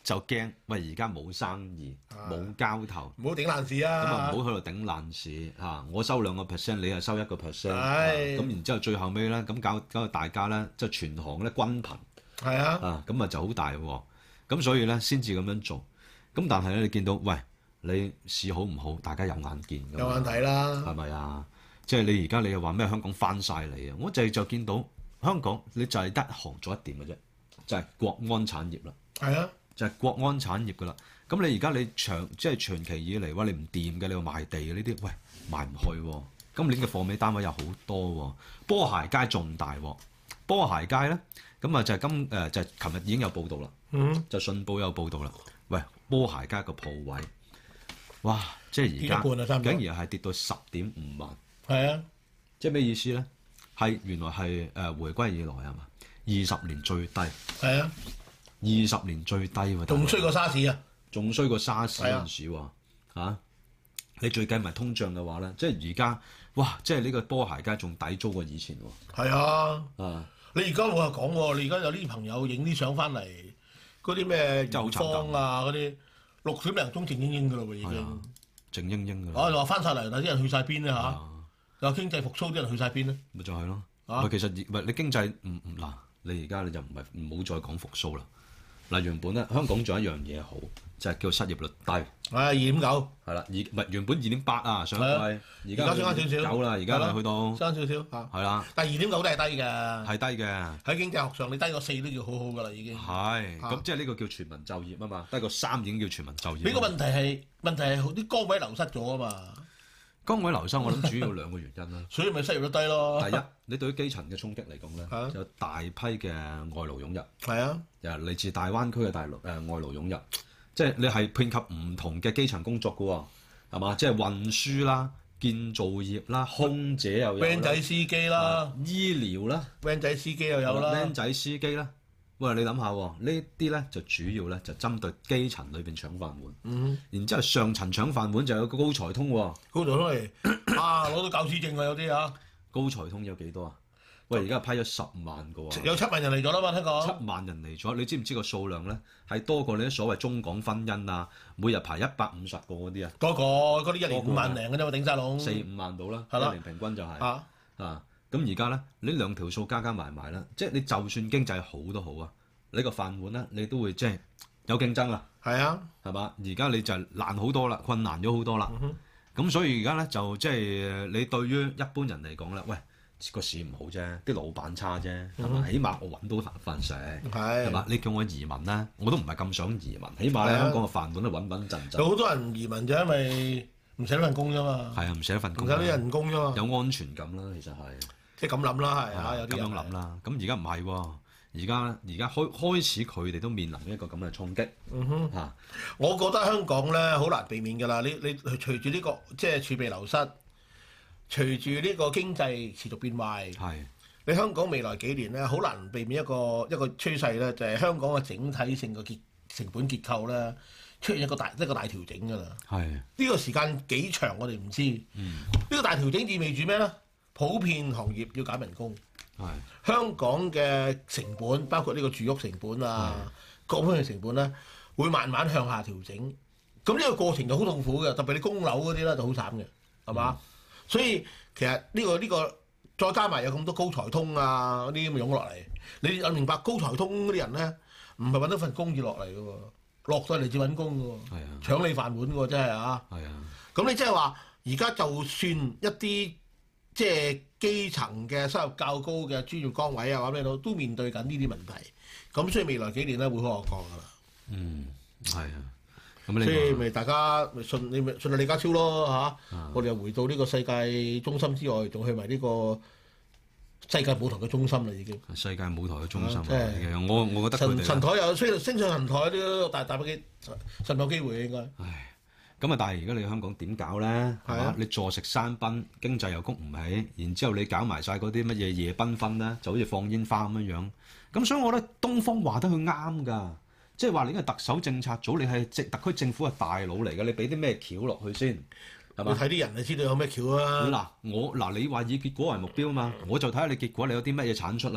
就驚喂而家冇生意冇交頭， 唔好頂爛市啊！ 咁啊唔好喺度頂爛市嚇，我收兩個 percent， 你係收一個 percent， 係咁然之後最後尾咧咁搞搞到大家咧即係全行咧均貧係啊， 啊咁啊就好大喎，咁所以咧先至咁樣做，咁但係咧你見到喂你市好唔好，大家有眼見㗎嘛， 有眼睇啦， 係咪啊？即係你而家你又話咩香港翻晒嚟啊？我就係就見到香港你就係得一行做一點嘅啫，就係國安產業啦。 係啊， 就係國安產業㗎啦。咁你而家你長即係長期以嚟，哇！你唔掂嘅，你話賣地嘅呢啲，喂賣唔去喎。今年嘅貨尾單位有好多喎。波鞋街仲大喎。波鞋街咧，咁啊就係今誒就係琴日已經有報道啦。 嗯， 就信報有報道啦。喂，波鞋街個鋪位，哇！即係而家跌一半啊差唔多竟然係跌到十點五萬。 係啊， 即係咩意思咧？係原來係誒回歸以來係嘛？二十年最低。 係啊， 二十年最低喎。 仲衰過沙士啊！ 仲衰過沙士嗰陣時喎，啊，你最計埋通脹嘅話咧，即係而家，哇！即係呢個波鞋街仲抵租過以前喎。 係啊， 啊， 你而家我又講喎，你而家有啲朋友影啲相翻嚟，嗰啲咩真係好元芳啊嗰啲，六點零鐘靜英英㗎咯喎已係啊經。 靜英英㗎啦。 我就話翻晒嚟，但啲人去晒邊咧嚇？ 啊有經濟復甦啲人去晒邊咧？ 咪就係咯。 啊喂，其實唔係你經濟唔唔嗱，你而家你就唔係唔好再講復甦啦。嗱，原本咧香港仲有一樣嘢好，就係叫失業率低。 係二點九， 係啦，而唔係原本二點八啊上季， 係啊而家而家升翻少少九啦，而家係啦係去到爭少少嚇。 係啦， 但係二點九都係低嘅， 係低嘅。 喺經濟學上你低過四都叫好好㗎啦已經。 係， 啊咁即係呢個叫全民就業啊嘛，低過三已經叫全民就業。 呢個問題係問題係啲崗位流失咗啊嘛， 崗位流失，我諗主要兩個原因啦。 所以咪失業率低咯。 第一，你對於基層嘅衝擊嚟講咧， 啊有大批嘅外勞湧入， 係啊， 又嚟自大灣區嘅大陸誒、呃、外勞湧入，即係你係遍及唔同嘅基層工作嘅喎，係嘛？即係運輸啦、建造業啦、空姐又有啦 van 仔司機啦啊醫療啦、 ，van 仔司機又有啦僆，仔司機啦。喂，你諗下喎，呢啲咧就主要咧就針對基層裏邊搶飯碗， 嗯， 然之後上層搶飯碗就有個高才通喎。 高度都嚟啊攞到教師證啊有啲啊， 高才通有幾多啊？喂，而家批咗十萬個喎， 有七萬人嚟咗啦嘛，聽講。 七萬人嚟咗，你知唔知個數量咧係多過你啲所謂中港婚姻啊，每日排一百五十個嗰啲啊， 嗰個嗰啲一年五萬零嘅啫嘛，頂晒籠。 四五萬到啦， 係啦一年平均就係、 啊， 啊，咁而家咧呢兩條數加加埋埋啦，即係你就算經濟好都好啊，你個飯碗咧你都會即係有競爭啦， 係啊， 係嘛？而家你就難好多啦，困難咗好多啦，咁、 嗯、 所以而家咧就即係你對於一般人嚟講咧，喂。個市唔好啫，啲老闆差啫，係嘛？起碼我揾到飯飯食，係嘛？你叫我移民咧，我都唔係咁想移民，起碼咧香港嘅飯碗都穩穩陣陣。 有好多人移民就因為唔捨得份工啫嘛， 係啊，唔捨得份工， 唔捨得人工啫嘛， 有安全感啦，其實係即係咁諗啦，係啊，有啲咁人樣諗啦。咁而家唔係喎，而家而家開開始佢哋都面臨一個咁嘅衝擊。 嗯哼， 嚇， 我覺得香港咧好難避免㗎啦。你你隨住呢個即係儲備流失。隨住呢個經濟持續變壞， 係你香港未來幾年咧，好難避免一個一個趨勢咧，就係、是、香港嘅整體性嘅結成本結構咧出現一個大一個大調整㗎啦。 係呢個時間幾長我哋唔知。呢、 嗯、 個大調整意味住咩咧？普遍行業要減人工。 係香港嘅成本，包括呢個住屋成本啊，各方面嘅成本咧，會慢慢向下調整。咁呢個過程就好痛苦嘅，特別你供樓嗰啲咧就好慘嘅，係嘛？嗯所以其實呢、呢個呢、呢個再加埋有咁多高才通啊嗰啲咁湧落嚟，你有明白高才通嗰啲人咧，唔係揾到份工而落嚟嘅喎，落咗嚟至揾工嘅喎， 係啊， 搶你飯碗嘅喎，真係啊！ 係啊， 咁你即係話而家就算一啲即係基層嘅收入較高嘅專業崗位啊，或者咩都都面對緊呢啲問題，咁所以未來幾年咧會好惡降㗎啦。 嗯，係啊。咁所以咪大家咪信你咪信下李家超咯嚇， 啊、 我哋又回到呢個世界中心之外，仲去埋呢個世界舞台嘅中心啦已經。 世界舞台嘅中心啊！ 即係我我覺得佢哋神神台又升升上神台都大大把機神有機會應該。 唉，咁啊！但係而家你香港點搞咧？係嘛？你坐食山賓，經濟又谷唔起，然之後你搞埋晒嗰啲乜嘢夜繽紛咧，就好似放煙花咁樣樣。咁所以我覺得東方話得佢啱㗎。即係話你係特首政策組，你係即特區政府係大佬嚟嘅，你俾啲咩橋落去先係嘛？ 你睇啲人就知道有咩橋啊！ 嗱，我嗱你話以結果為目標啊嘛，我就睇下你結果你有啲乜嘢產出啦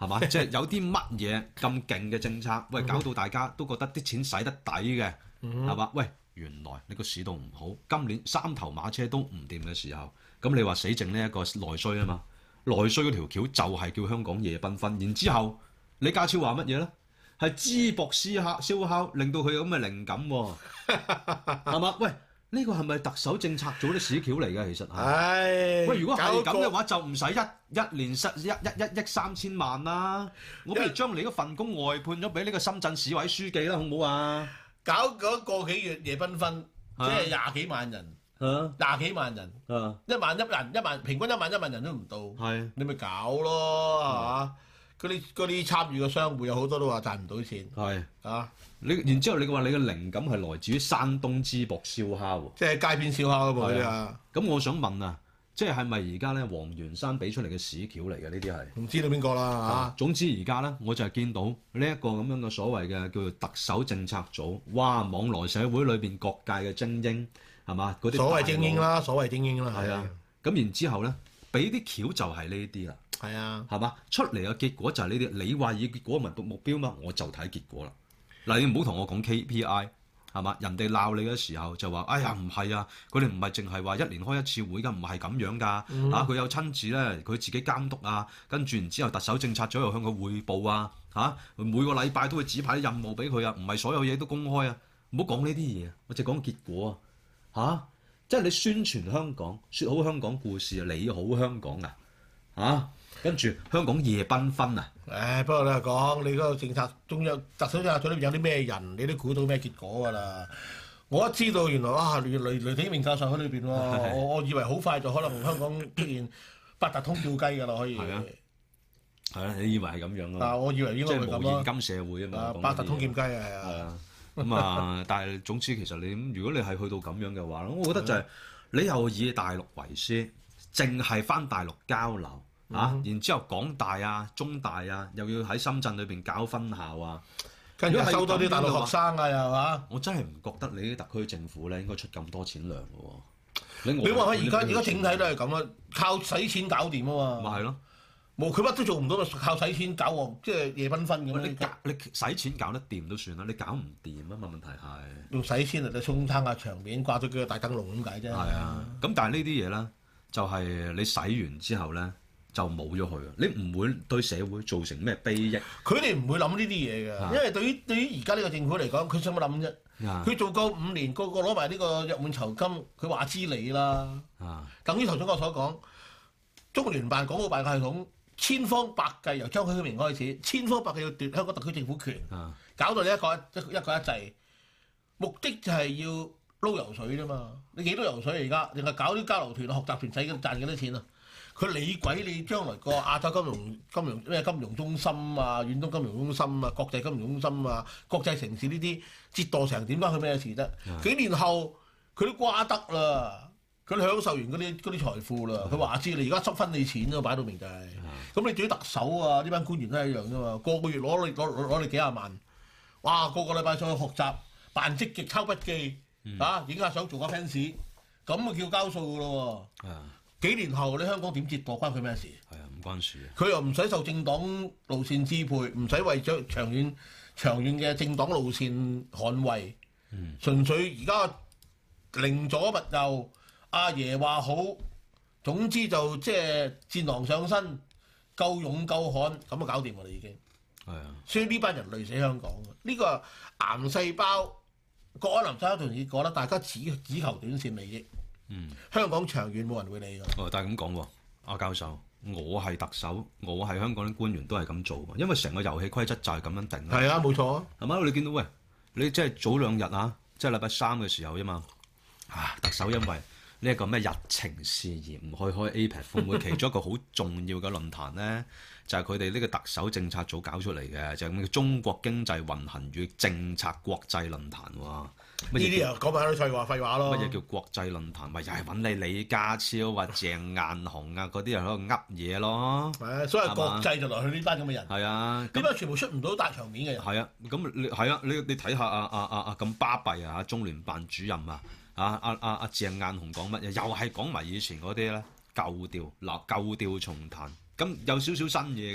係嘛？即係有啲乜嘢咁勁嘅政策，喂，搞到大家都覺得啲錢使得抵嘅，係嘛？喂，原來你個市道唔好，今年三頭馬車都唔掂嘅時候，咁你話死剩呢一個內需啊嘛？內需嗰條橋就係叫香港夜繽紛，然之後李家超話乜嘢咧？係淄博燒烤燒烤，令到佢有咁嘅靈感喎，係嘛？喂！呢個係咪特首政策組啲屎橋嚟嘅？其實係。 唉， 喂，如果係咁嘅搞話，就唔使一一年失一一一億三千萬啦。我不如將你嗰份工外判咗俾呢個深圳市委書記啦，好唔好啊？ 搞嗰個幾月夜繽紛，即係廿幾萬人， 啊廿幾萬人， 啊， 一萬一人，一萬平均一萬一萬人都唔到， 係你咪搞咯，係嘛？嗰啲嗰啲參與嘅商戶有好多都話賺唔到錢， 係啊！ 你然之後你話你嘅靈感係來自於山東淄博燒烤喎。 即係街邊燒烤啊嘛，嗰啲係啊， 咁我想問啊，即係係咪而家咧黃元山俾出嚟嘅屎橋嚟嘅呢啲係？ 唔知道邊個啦啊，總之而家咧，我就係見到呢一個咁樣嘅所謂嘅叫做特首政策組，哇！網羅社會裏邊各界嘅精英係嘛？嗰嚇， 啲所謂精英大佬啦，所謂精英啦， 係啊，咁然之後咧，俾啲橋就係呢啲啦， 係啊， 係嘛？出嚟嘅結果就係呢啲。你話以結果為目標嘛，我就睇結果啦。嗱，你唔好同我講 K P I 係嘛？人哋鬧你嘅時候就話：哎呀，唔係啊，佢哋唔係淨係話一年開一次會㗎，唔係咁樣㗎。 嗯啊，佢有親自咧，佢自己監督啊，跟住然之後特首政策組又向佢匯報啊，嚇、每個禮拜都會指派啲任務俾佢啊，唔係所有嘢都公開啊。唔好講呢啲嘢，我淨係講結果啊，嚇、即係你宣傳香港，説好香港故事啊，你好香港啊，嚇、跟住香港夜繽紛啊。 誒，不過你係講你嗰個政策，中央特首政策組裏邊有啲咩人，你都估到咩結果㗎啦。我一知道原來哇，雷雷雷鼎明教授喺裏邊喎，我我以為好快就可能香港出現八達通叫雞㗎啦，可以。 係啊，係啊，你以為係咁樣啊， 啊？ 我以為應即該會咁咯。 係無現金社會啊嘛啊， 講呢啲嘢。 八達通劍雞啊，係係啊。 啊，咁啊，但係總之其實你咁，如果你係去到咁樣嘅話，我覺得就係、你又以大陸為師，淨係翻大陸交流。啊！然之後港大啊、中大啊，又要喺深圳裏邊搞分校啊， 跟住如果係收多啲大陸咁樣嘅話學生啊，又係嘛？ 我真係唔覺得你啲特區政府咧應該出咁多錢糧嘅喎。你你話佢而家而家整體都係係咁啊，靠使錢搞掂啊嘛。 咪係咯？ 冇佢乜都做唔到，靠使錢搞旺，即係夜繽紛咁你搞樣。 你使錢搞得掂都算啦，你搞唔掂啊嘛？問題係用使錢嚟到沖撐下場面，掛咗幾個大燈籠咁解啫。 係啊，咁但係呢啲嘢咧，就係、你使完之後咧。就冇咗佢啊！你唔會對社會造成咩裨益？ 佢哋唔會諗呢啲嘢嘅， 啊因為對於對於而家呢個政府嚟講，佢想乜諗啫？ 啊佢做夠五年，個個攞埋呢個約滿酬金，佢話知你啦。 啊！ 等於頭先我所講，中聯辦港澳辦嘅系統千方百計由張曉明開始，千方百計要奪香港特區政府權， 啊搞到你一個一一個一制，目的就係要撈油水啫嘛。你幾多油水而家？定係搞啲交流團、學習團使賺幾多錢啊？佢理鬼你將來個亞洲金融金融咩金融中心啊、遠東金融中心啊、國際金融中心啊、國際城市呢啲折墮成點關佢咩事啫？幾年後佢都瓜得啦，佢都享受完嗰啲嗰啲財富啦。佢話知你而家執分你錢啊，擺到明就係、是。咁你至於特首啊，呢班官員都係一樣啫嘛，個個月攞你攞攞攞你幾廿萬，哇！個個禮拜上去學習，扮積極抄筆記，啊影下相做下 fans，咁啊叫交數噶咯喎。 啊幾年後你香港點折墮關佢咩事？ 係啊，唔關事嘅。 佢又唔使受政黨路線支配，唔使為咗長遠長遠嘅政黨路線捍衛。嗯，純粹而家寧左勿右，阿爺話好，總之就即係戰狼上身，夠勇夠悍，咁就搞掂㗎啦已經。 係啊， 所以呢班人累死香港嘅，呢、這個癌細胞，國安林生同你講啦，大家只只求短線利益。 嗯， 香港長遠冇人會理㗎。 哦，但係咁講喎，阿教授，我係特首，我係香港啲官員都係咁做喎，因為成個遊戲規則就係咁樣定。 係啊，冇錯啊。 係嘛？你見到喂，你即係早兩日啊，即係禮拜三嘅時候啫嘛。啊，特首因為呢一個咩日程事宜唔去開 A P E C 峰會，其中一個好重要嘅論壇咧，就係佢哋呢個特首政策組搞出嚟嘅，就係咁嘅中國經濟運行與政策國際論壇喎。 呢啲啊講埋啲廢話廢話咯。 乜嘢叫國際論壇？咪又係揾你李家超啊、鄭雁雄啊嗰啲人喺度噏嘢咯。 係啊，所謂國際就來去呢班咁嘅人。 係啊， 呢班全部出唔到大場面嘅人。 係啊，咁你係啊，你你睇下啊啊啊啊咁巴閉啊！中聯辦主任啊，啊啊啊啊鄭雁雄講乜嘢？又係講埋以前嗰啲咧舊調，嗱舊調重彈。咁有少少新嘢嘅，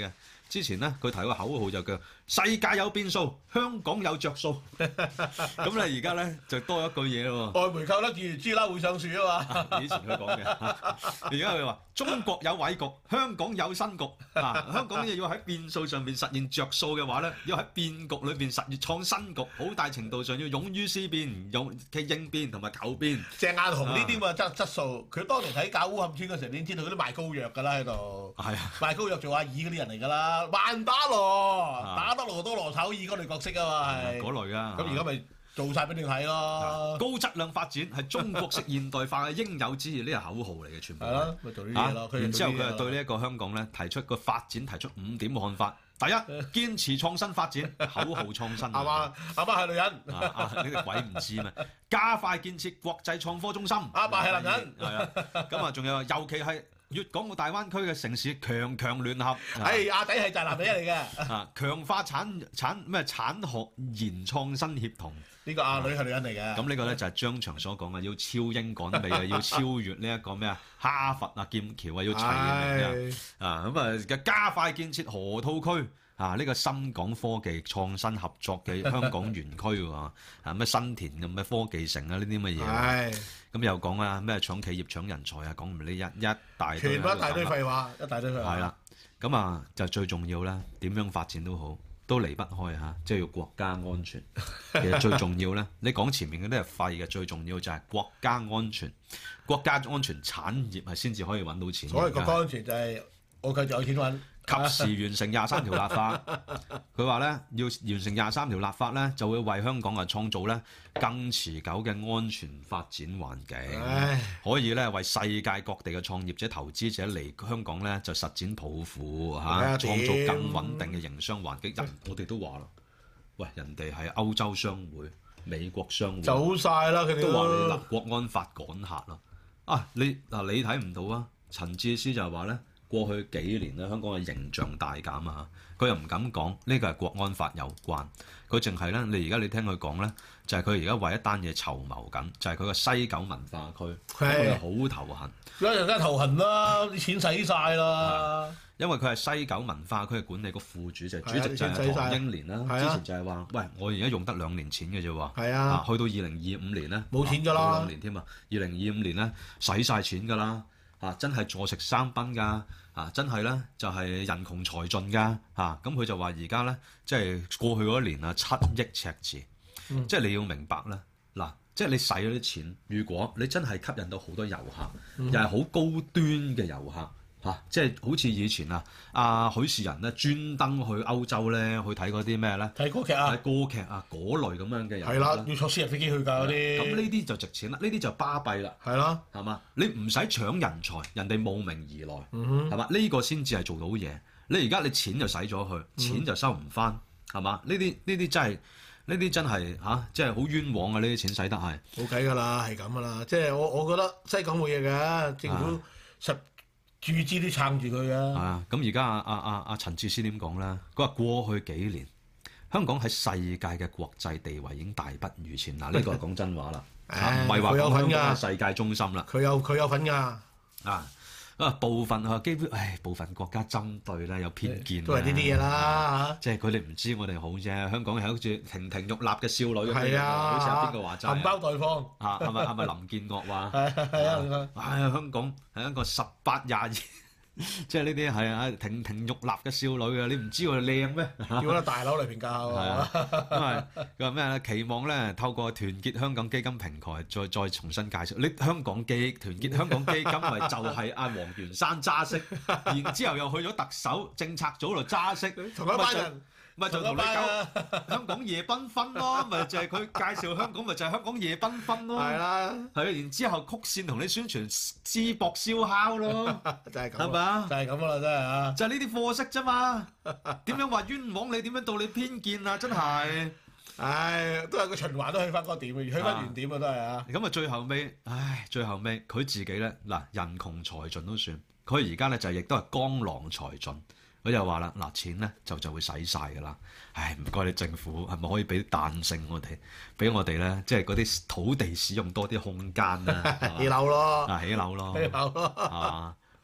之前咧佢提個口號就叫世界有變數，香港有着數。咁咧而家咧就多一句嘢咯喎。 外煤扣得住豬啦會上樹啊嘛。 以前佢講嘅，而家佢話中國有偉局，香港有新局。啊，香港要喺變數上邊實現着數嘅話咧，要喺變局裏邊實現創新局，好大程度上要勇於思變、勇嘅應變同埋求變。 鄭雁雄呢啲咁嘅質質素，佢當年喺搞烏坎村嗰時候，你已經知道佢啲賣膏藥㗎啦喺度。 係啊， 賣膏藥做阿二嗰啲人嚟㗎啦，萬打羅，打得羅多羅炒二嗰類角色啊嘛係。 嗰類啊。 咁而家咪做晒俾你睇咯。 高質量發展係中國式現代化嘅應有之義，呢個口號嚟嘅，全部。 係咯，咪做呢啲嘢咯。 然之後佢係對呢一個香港咧提出個發展提出五點看法。第一，堅持創新發展，口號創新。 阿媽阿媽係女人。 啊啊！呢啲鬼唔知咩？加快建設國際創科中心。 阿爸係男人。 係啊，咁啊，仲有尤其係粵港澳大灣區嘅城市強強聯合。 係阿弟係宅男仔嚟嘅。 啊，強化產產咩產學研創新協同。 呢個阿女係女人嚟嘅。 咁呢個咧就係張翔所講嘅，要超英趕美啊，要超越呢一個咩啊哈佛啊劍橋啊，要齊名啊。咁啊，加快建設河套區啊，呢個深港科技創新合作嘅香港園區喎。啊，咩新田咁咩科技城啊，呢啲乜嘢。係。咁又講啊，咩搶企業搶人才啊，講唔呢一一大堆。 全部一大堆廢話，一大堆廢話。 係啦。咁啊，就最重要啦，點樣發展都好。都離不開嚇，即係要國家安全。其實最重要咧，你講前面嗰啲係廢嘅，最重要就係國家安全。國家安全產業係先至可以揾到錢。 所謂國家安全就係我繼續有錢揾。 及時完成廿三條立法，佢話咧要完成廿三條立法咧，就會為香港啊創造咧更持久嘅安全發展環境，唉可以咧為世界各地嘅創業者、投資者嚟香港咧就實踐抱負嚇，啊、創造更穩定嘅營商環境。人我哋都話啦，喂，人哋係歐洲商會、美國商會走晒啦，佢哋都話你立國安法趕客啦。啊，你嗱你睇唔到啊？陳智思就係話咧。過去幾年咧，香港嘅形象大減啊！佢又唔敢講呢個係國安法有關，佢淨係咧，你而家你聽佢講咧，就係佢而家為一單嘢籌謀緊，就係佢個西九文化區，佢係好頭痕。 而家梗係頭痕啦，啲錢使晒啦。 因為佢係西九文化區嘅管理局副主席，主席就係唐英年啦。之前就係話，喂，我而家用得兩年錢嘅啫喎。係啊，去到二零二五年咧， 冇錢㗎啦。 兩年添啊，二零二五年咧使晒錢㗎啦。啊！真係坐食山崩㗎，啊！真係咧就係、是、人窮財盡㗎，嚇咁佢就話而家咧即係過去嗰一年啊七億赤字，嗯、即係你要明白啦，嗱，即係你使咗啲錢，如果你真係吸引到好多遊客，嗯、又係好高端嘅遊客。嚇、啊！即係好似以前啊，阿許仕仁咧專登去歐洲咧去睇嗰啲咩咧？ 睇歌劇啊！ 睇歌劇啊嗰類咁樣嘅人。 係啦，要坐私人飛機去㗎嗰啲。咁呢啲就值錢啦，呢啲就巴閉啦。 係啦， 係嘛？你唔使搶人才，人哋慕名而來，係嘛、嗯哼？呢、呢個先至係做到嘢。你而家你錢就使咗去，錢就收唔翻，係嘛？呢啲呢啲真係呢啲真係嚇，即係好冤枉啊！呢啲錢使得係冇計㗎啦，係咁㗎啦。即係我我覺得西港冇嘢嘅，政府實。注資都撐住佢啊！ 啊，咁而家阿阿阿阿陳智思點講咧？佢話過去幾年香港喺世界嘅國際地位已經大不如前。嗱，呢個係講真話啦，唔係話講香港係世界中心啦。 佢有佢有份㗎啊！啊，部分啊，基本唉，部分國家針對咧有偏見， 都係呢啲嘢啦。 即係佢哋唔知我哋好啫。香港係好似亭亭玉立嘅少女咁樣， 係啊， 好似阿邊個話齋， 含苞待放啊，係咪係咪林建岳話？ 係係啊！ 唉，香港係一個十八廿二。即係呢啲係啊亭亭玉立嘅少女啊！你唔知我哋靚咩？ 叫嗰大樓嚟評價係啊！因為佢話咩咧？期望咧透過團結香港基金平台，再再重新介紹。你香港基團結香港基金咪就係阿黃元山揸色，然之後又去咗特首政策組度揸色， 同一班人。 咪就同你講香港夜繽紛咯，咪就係佢介紹香港，咪就係香港夜繽紛咯。係啦，係啊，然之後曲線同你宣傳淄博燒烤咯， 就係咁， 係咪啊？ 就係咁啦，真係啊！ 就係呢啲貨色啫嘛，點樣話冤枉你？點樣道你偏見啊？真係， 唉，都係個循環，都去翻嗰個點，去翻原點啊，都係啊。 咁啊，最後尾，唉，最後尾佢自己咧，嗱，人窮財盡都算，佢而家咧就亦都係江郎才盡。佢就話啦，嗱，錢咧就就會使晒㗎啦。唉，唔該你政府係咪可以俾啲彈性我哋，俾我哋咧，即係嗰啲土地使用多啲空間啊？ 起樓咯， 啊起樓咯， 起樓咯。 啊，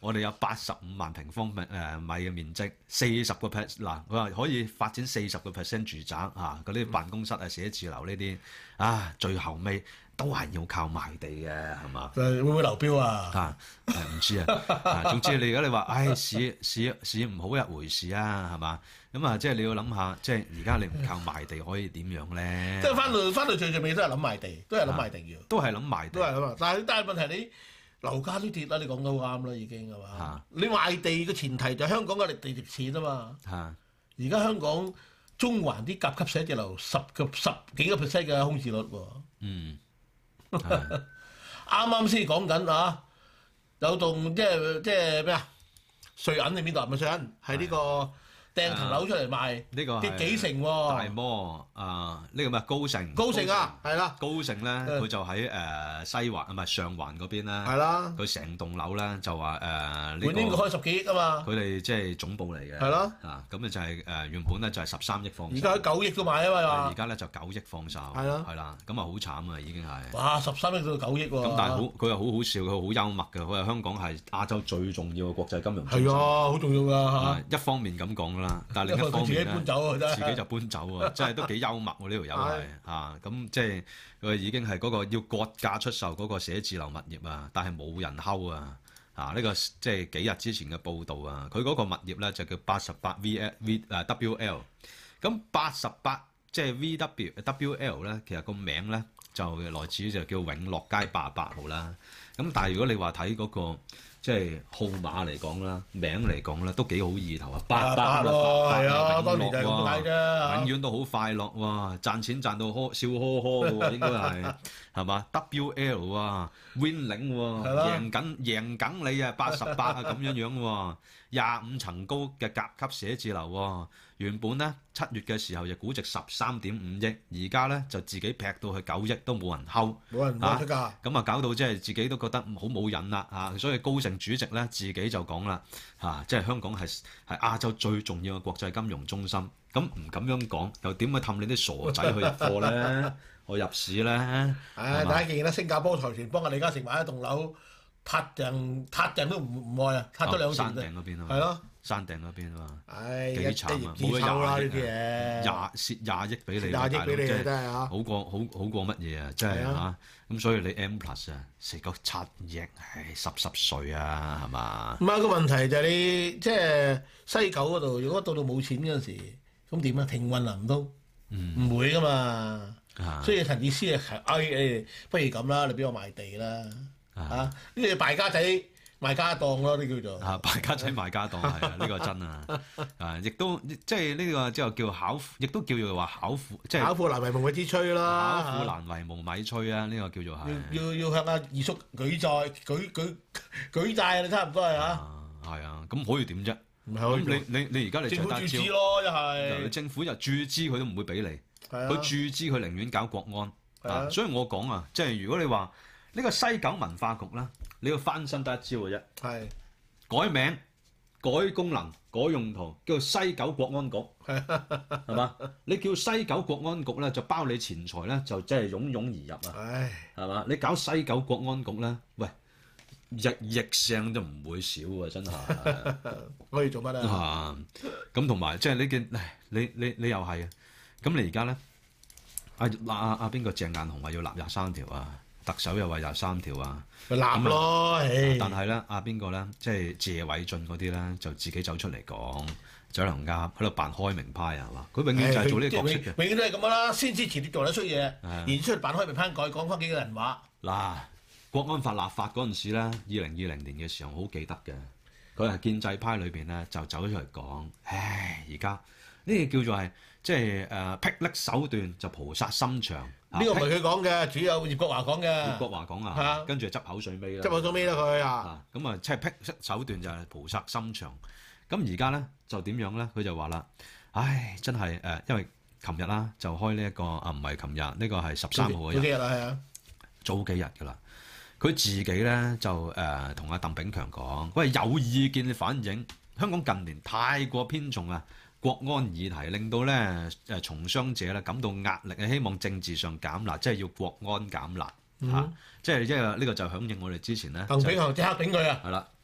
我哋有八十五萬平方米誒米嘅面積，四十個 percent 嗱，佢話可以發展四十個 percent 住宅啊，嗰啲辦公室啊、寫字樓呢啲啊，最後尾都係要靠賣地嘅，係嘛？ 誒會唔會流標啊？ 啊誒唔知啊，啊總之你而家你話，唉市市市唔好一回事啊，係嘛？咁啊，即係你要諗下，即係而家你唔靠賣地可以點樣咧？ 即係翻到翻到最最尾都係諗賣地，都係諗賣地要， 都係諗賣地， 都係諗啊！但係但係問題你樓價都跌啦，你講得好啱啦，已經係嘛？ 啊你賣地嘅前提就係香港嘅地值錢啊嘛。 嚇而家香港中環啲甲級寫字樓十個十幾個 percent 嘅空置率喎。 嗯。 啱啱先講緊啊，有棟即係即係咩啊？瑞銀定邊度？唔係瑞銀，係呢個掟層樓出嚟賣， 呢個跌幾成喎？ 大摩啊，呢個咩高盛？ 高盛啊，係啦， 高盛咧，佢就喺誒西環啊，唔係上環嗰邊啦。 係啦， 佢成棟樓咧就話誒呢本應該開十幾億啊嘛。 佢哋即係總部嚟嘅。 係咯。 啊，咁咧就係誒原本咧就係十三億放售。 而家九億都買啊嘛。 而家咧就九億放售。 係咯。 係啦，咁啊好慘啊，已經係。 哇！十三億到九億喎。 咁但係好，佢又好好笑，佢好幽默嘅。佢話香港係亞洲最重要嘅國際金融中心。 係啊，好重要㗎嚇。 一方面咁講啦，但係另一方面自己搬走啊，真係自己就搬走啊，真係都幾幽默喎！呢條友係啊，咁即係佢已經係嗰個要割價出售嗰個寫字樓物業啊，但係冇人睺啊！啊，呢個即係幾日之前嘅報導啊，佢嗰個物業咧就叫八十八 V V 誒 W L， 咁八十八即係 V W W L 咧，其實個名咧就來自於就叫永樂街八十八號啦。咁但係如果你話睇嗰個即係號碼嚟講啦，名嚟講咧都幾好意頭啊！八百咯，係啊， 啊當年就係咁解啫， 永遠都好快樂喎，賺錢賺到呵笑呵呵嘅喎，應該係係嘛 ？W L 啊，winning 喎，贏緊贏緊你啊，八十八啊咁樣樣喎，廿五層高嘅甲級寫字樓喎，原本咧七月嘅時候就估值十三點五億，而家咧就自己劈到去九億都冇人睺， 冇人攞出價， 咁啊搞到即係自己都覺得好冇癮啦嚇，所以高盛主席咧自己就講啦嚇，即係香港係係亞洲最重要嘅國際金融中心，咁唔咁樣講，又點去氹你啲傻仔去入貨咧？去入市咧？ 唉，大家見啦，新加坡財團幫阿李嘉誠買一棟樓，撻人撻人都唔唔愛啊，撻咗兩成。 山頂嗰邊啊嘛。 係咯。 山頂嗰邊啊嘛。 唉， 幾慘啊！冇咗廿億廿廿蝕廿億俾你， 廿億俾你真係啊！ 好過好好過乜嘢啊？真係嚇咁，所以你 M plus 啊，食個七億係濕濕碎啊，係嘛？ 唔係個問題就係你即係西九嗰度，如果到到冇錢嗰陣時，咁點啊？停運啊唔通？唔會噶嘛。所以陳智思啊，誒誒，不如咁啦，你俾我賣地啦嚇，呢啲敗家仔賣家當咯，呢叫做啊敗家仔賣家當係啊，呢個真啊啊，亦都即係呢個之後叫巧，亦都叫做話巧婦，即係巧婦難為無米之炊啦， 巧婦難為無米炊啊，呢個叫做係要要要向阿二叔舉債舉舉舉債啊，差唔多係嚇。 係啊，咁可以點啫？ 咁你你你而家你政府注資咯，一係政府又注資佢都唔會俾你。佢注資，佢寧願搞國安啊！所以我講啊，即係如果你話呢個西九文化局啦，你要翻身得一招嘅啫。 係改名、改功能、改用途，叫做西九國安局，係嘛？你叫西九國安局咧，就包你錢財咧，就即係湧湧而入啊！係嘛？你搞西九國安局咧，喂，日日聲都唔會少啊！真係可以做乜啊？咁同埋即係你嘅，你你你又係啊！咁你而家咧，阿阿阿邊個鄭雁雄話要立廿三條啊，特首又話廿三條啊， 立咯， 但係咧，阿邊個咧，即係謝偉俊嗰啲咧，就自己走出嚟講，走嚟鴨喺度扮開明派係嘛？佢永遠就係做呢個角色嘅， 永遠都係咁啦，先知前啲做得出嘢，然之後扮開明派改講翻幾個人話。 嗱，國安法立法嗰陣時咧，二零二零年嘅時候，好記得嘅，佢係建制派裏邊咧就走咗出嚟講，唉，而家呢個叫做係。即係誒霹靂手段就菩薩心腸， 呢個唔係佢講嘅，主有葉國華講嘅。 葉國華講啊，跟住執口水尾啦。 執口水尾啦佢啊。 咁啊，即係霹靂手段就係菩薩心腸。咁而家咧就點樣咧？佢就話啦，唉，真係誒，因為琴日啦就開呢一個啊，唔係琴日，呢個係十三號嘅日。 早幾日啦，係啊。 早幾日㗎啦。佢自己咧就誒同阿鄧炳強講，喂，有意見反映香港近年太過偏重啊。國安議題令到咧誒從商者咧感到壓力啊，希望政治上減辣，即係要國安減辣嚇，即係即係呢個就響應我哋之前咧。 鄧炳強即刻頂佢啊！ 係啦，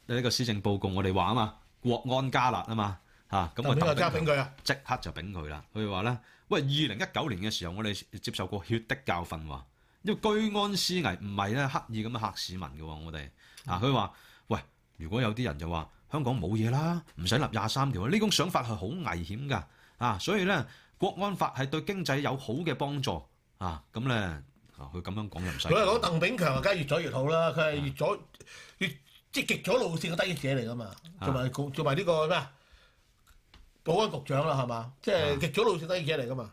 呢個施政報告，我哋話啊嘛，國安加辣啊嘛嚇，咁啊邊個加俾佢啊？ 即刻就炳佢啦。佢話咧，喂，二零一九年嘅時候，我哋接受過血的教訓喎，因為居安思危唔係咧刻意咁樣嚇市民嘅喎，我哋啊，佢話喂，如果有啲人就話香港冇嘢啦，唔使立廿三條，呢種想法係好危險㗎啊，所以咧國安法係對經濟有好嘅幫助啊，咁咧。佢咁樣講又唔使。 佢係講鄧炳強啊，梗係越左越好啦。佢係越左越即係極左路線嘅得益者嚟噶嘛，做埋做埋呢個咩啊？保安局長啦，係嘛？即係極左路線得益者嚟噶嘛。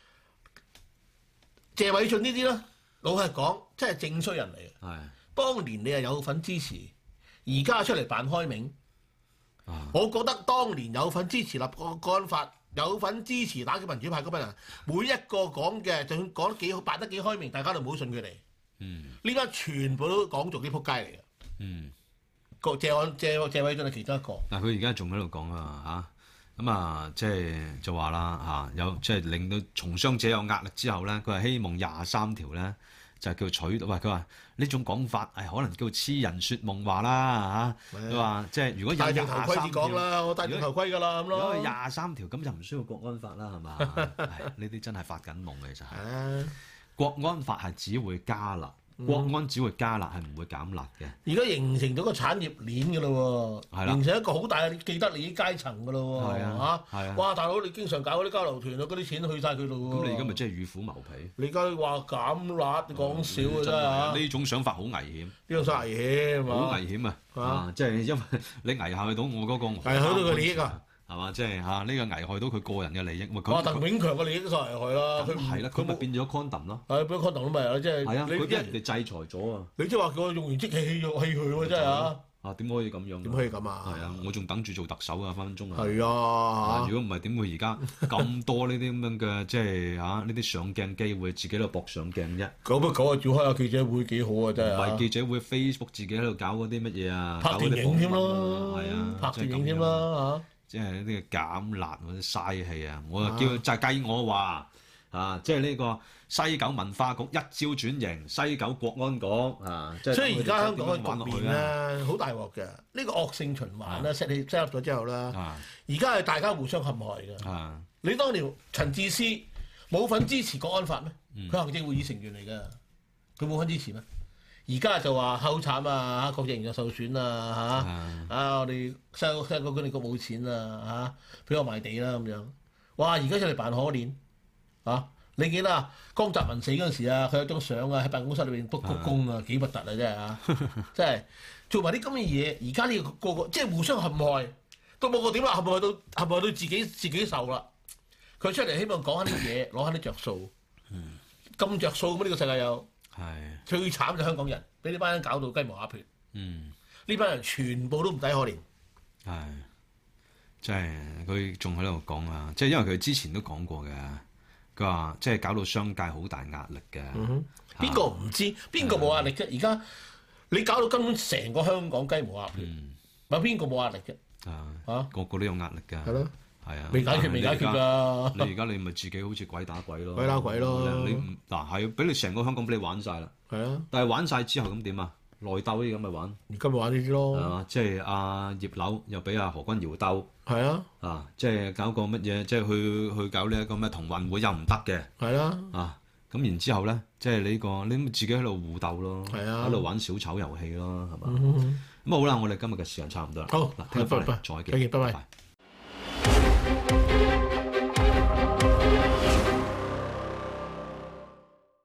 謝偉俊呢啲咧，老實講，真係正衰人嚟嘅。係。當年你係有份支持，而家出嚟扮開明。啊。我覺得當年有份支持立國國安法。有份支持打擊民主派嗰班人，每一個講嘅，就算講得幾好，扮得幾開明，大家都唔好信佢哋。嗯，呢班全部都講做啲撲街嚟嘅。嗯，個謝安謝謝偉俊係其中一個。嗱，佢而家仲喺度講啊嚇，咁啊即係就話啦嚇，有即係令到從商者有壓力之後咧，佢係希望廿三條咧就係叫取到。喂，佢話呢種講法係可能叫痴人説夢話啦嚇。佢話即係如果有廿三條，講啦，我戴住頭盔㗎啦咁咯。如果廿三條咁就唔需要國安法啦，係嘛？呢啲真係發緊夢嘅，其實係。國安法係只會加辣，國安只會加辣，係唔會減辣嘅。而家形成咗個產業鏈㗎咯喎，形成一個好大嘅既得利益階層㗎咯喎。係啊，係啊。哇，大佬你經常搞嗰啲交流團啊，嗰啲錢去晒佢度喎。咁你而家咪真係與虎謀皮？你而家話減辣，講笑啊真係嚇！呢種想法好危險。呢種想危險好危險啊！啊，即係因為你危害到我嗰個危害到佢利益啊！係嘛？即係嚇呢個危害到佢個人嘅利益。哇！鄧炳強嘅利益都受危害啦。佢係啦，佢咪變咗 condom 咯。係變咗 condom 咯，咪係即係。係啊，佢俾人哋制裁咗啊！你即係話叫我用完即棄棄用棄佢喎，真係嚇。啊，點可以咁樣？點可以咁啊？係啊，我仲等住做特首啊，分分鐘啊。係啊，如果唔係點會而家咁多呢啲咁樣嘅即係嚇呢啲上鏡機會，自己喺度搏上鏡啫。久不久啊，召開下記者會幾好啊，真係。唔係記者會 ，Facebook 自己喺度搞嗰啲乜嘢啊？拍電影添咯，係啊，拍電影添啦嚇。即係呢啲減辣或者嘥氣啊！我叫就計我話啊，即係呢個西九文化局一朝轉型，西九國安局啊，即係所以而家香港嘅局面咧，好大鑊嘅。呢個惡性循環咧 set 起 set up 咗之後啦，而家係大家互相陷害嘅。啊、你當年陳智思冇份支持國安法咩？佢、嗯、行政會議成員嚟㗎，佢冇份支持咩？而家就話好慘啊！國際形象受損啊！嚇啊！啊我哋西西九管理局冇錢啊！嚇俾我賣地啦咁樣。哇！而家出嚟扮可憐啊！你記得啊？江澤民死嗰陣時啊，佢有張相啊，喺辦公室裏邊督鞠躬啊，幾核突啊！真係啊！真係做埋啲咁嘅嘢。而家呢個個個即係互相陷害，都冇個點啦，陷害到陷害到自己自己受啦。佢出嚟希望講下啲嘢，攞下啲着數。咁着數咁呢個世界有？係最慘就香港人，俾呢班人搞到雞毛鴨血。嗯，呢班人全部都唔抵可憐。係，即係佢仲喺度講啊！即係因為佢之前都講過嘅，佢話即係搞到商界好大壓力嘅。邊個唔知？邊個冇壓力啫？而家你搞到根本成個香港雞毛鴨血，有邊個冇壓力啫？啊，嚇個個都有壓力㗎。係咯。係啊，未解決未解決㗎。你而家你咪自己好似鬼打鬼咯，鬼打鬼咯。你嗱係俾你成個香港俾你玩晒啦。係啊，但係玩晒之後咁點啊？內鬥啲咁咪玩。而家咪玩呢啲咯。係啊，即係阿葉劉又俾阿何君堯鬥。係啊。啊，即係搞個乜嘢？即係去去搞呢一個咩同運會又唔得嘅。係啊。啊，咁然之後咧，即係呢個你自己喺度互鬥咯。係啊。喺度玩小丑遊戲咯，係嘛？咁好啦，我哋今日嘅時間差唔多啦。好，嗱，聽日翻嚟再見。再見，拜拜。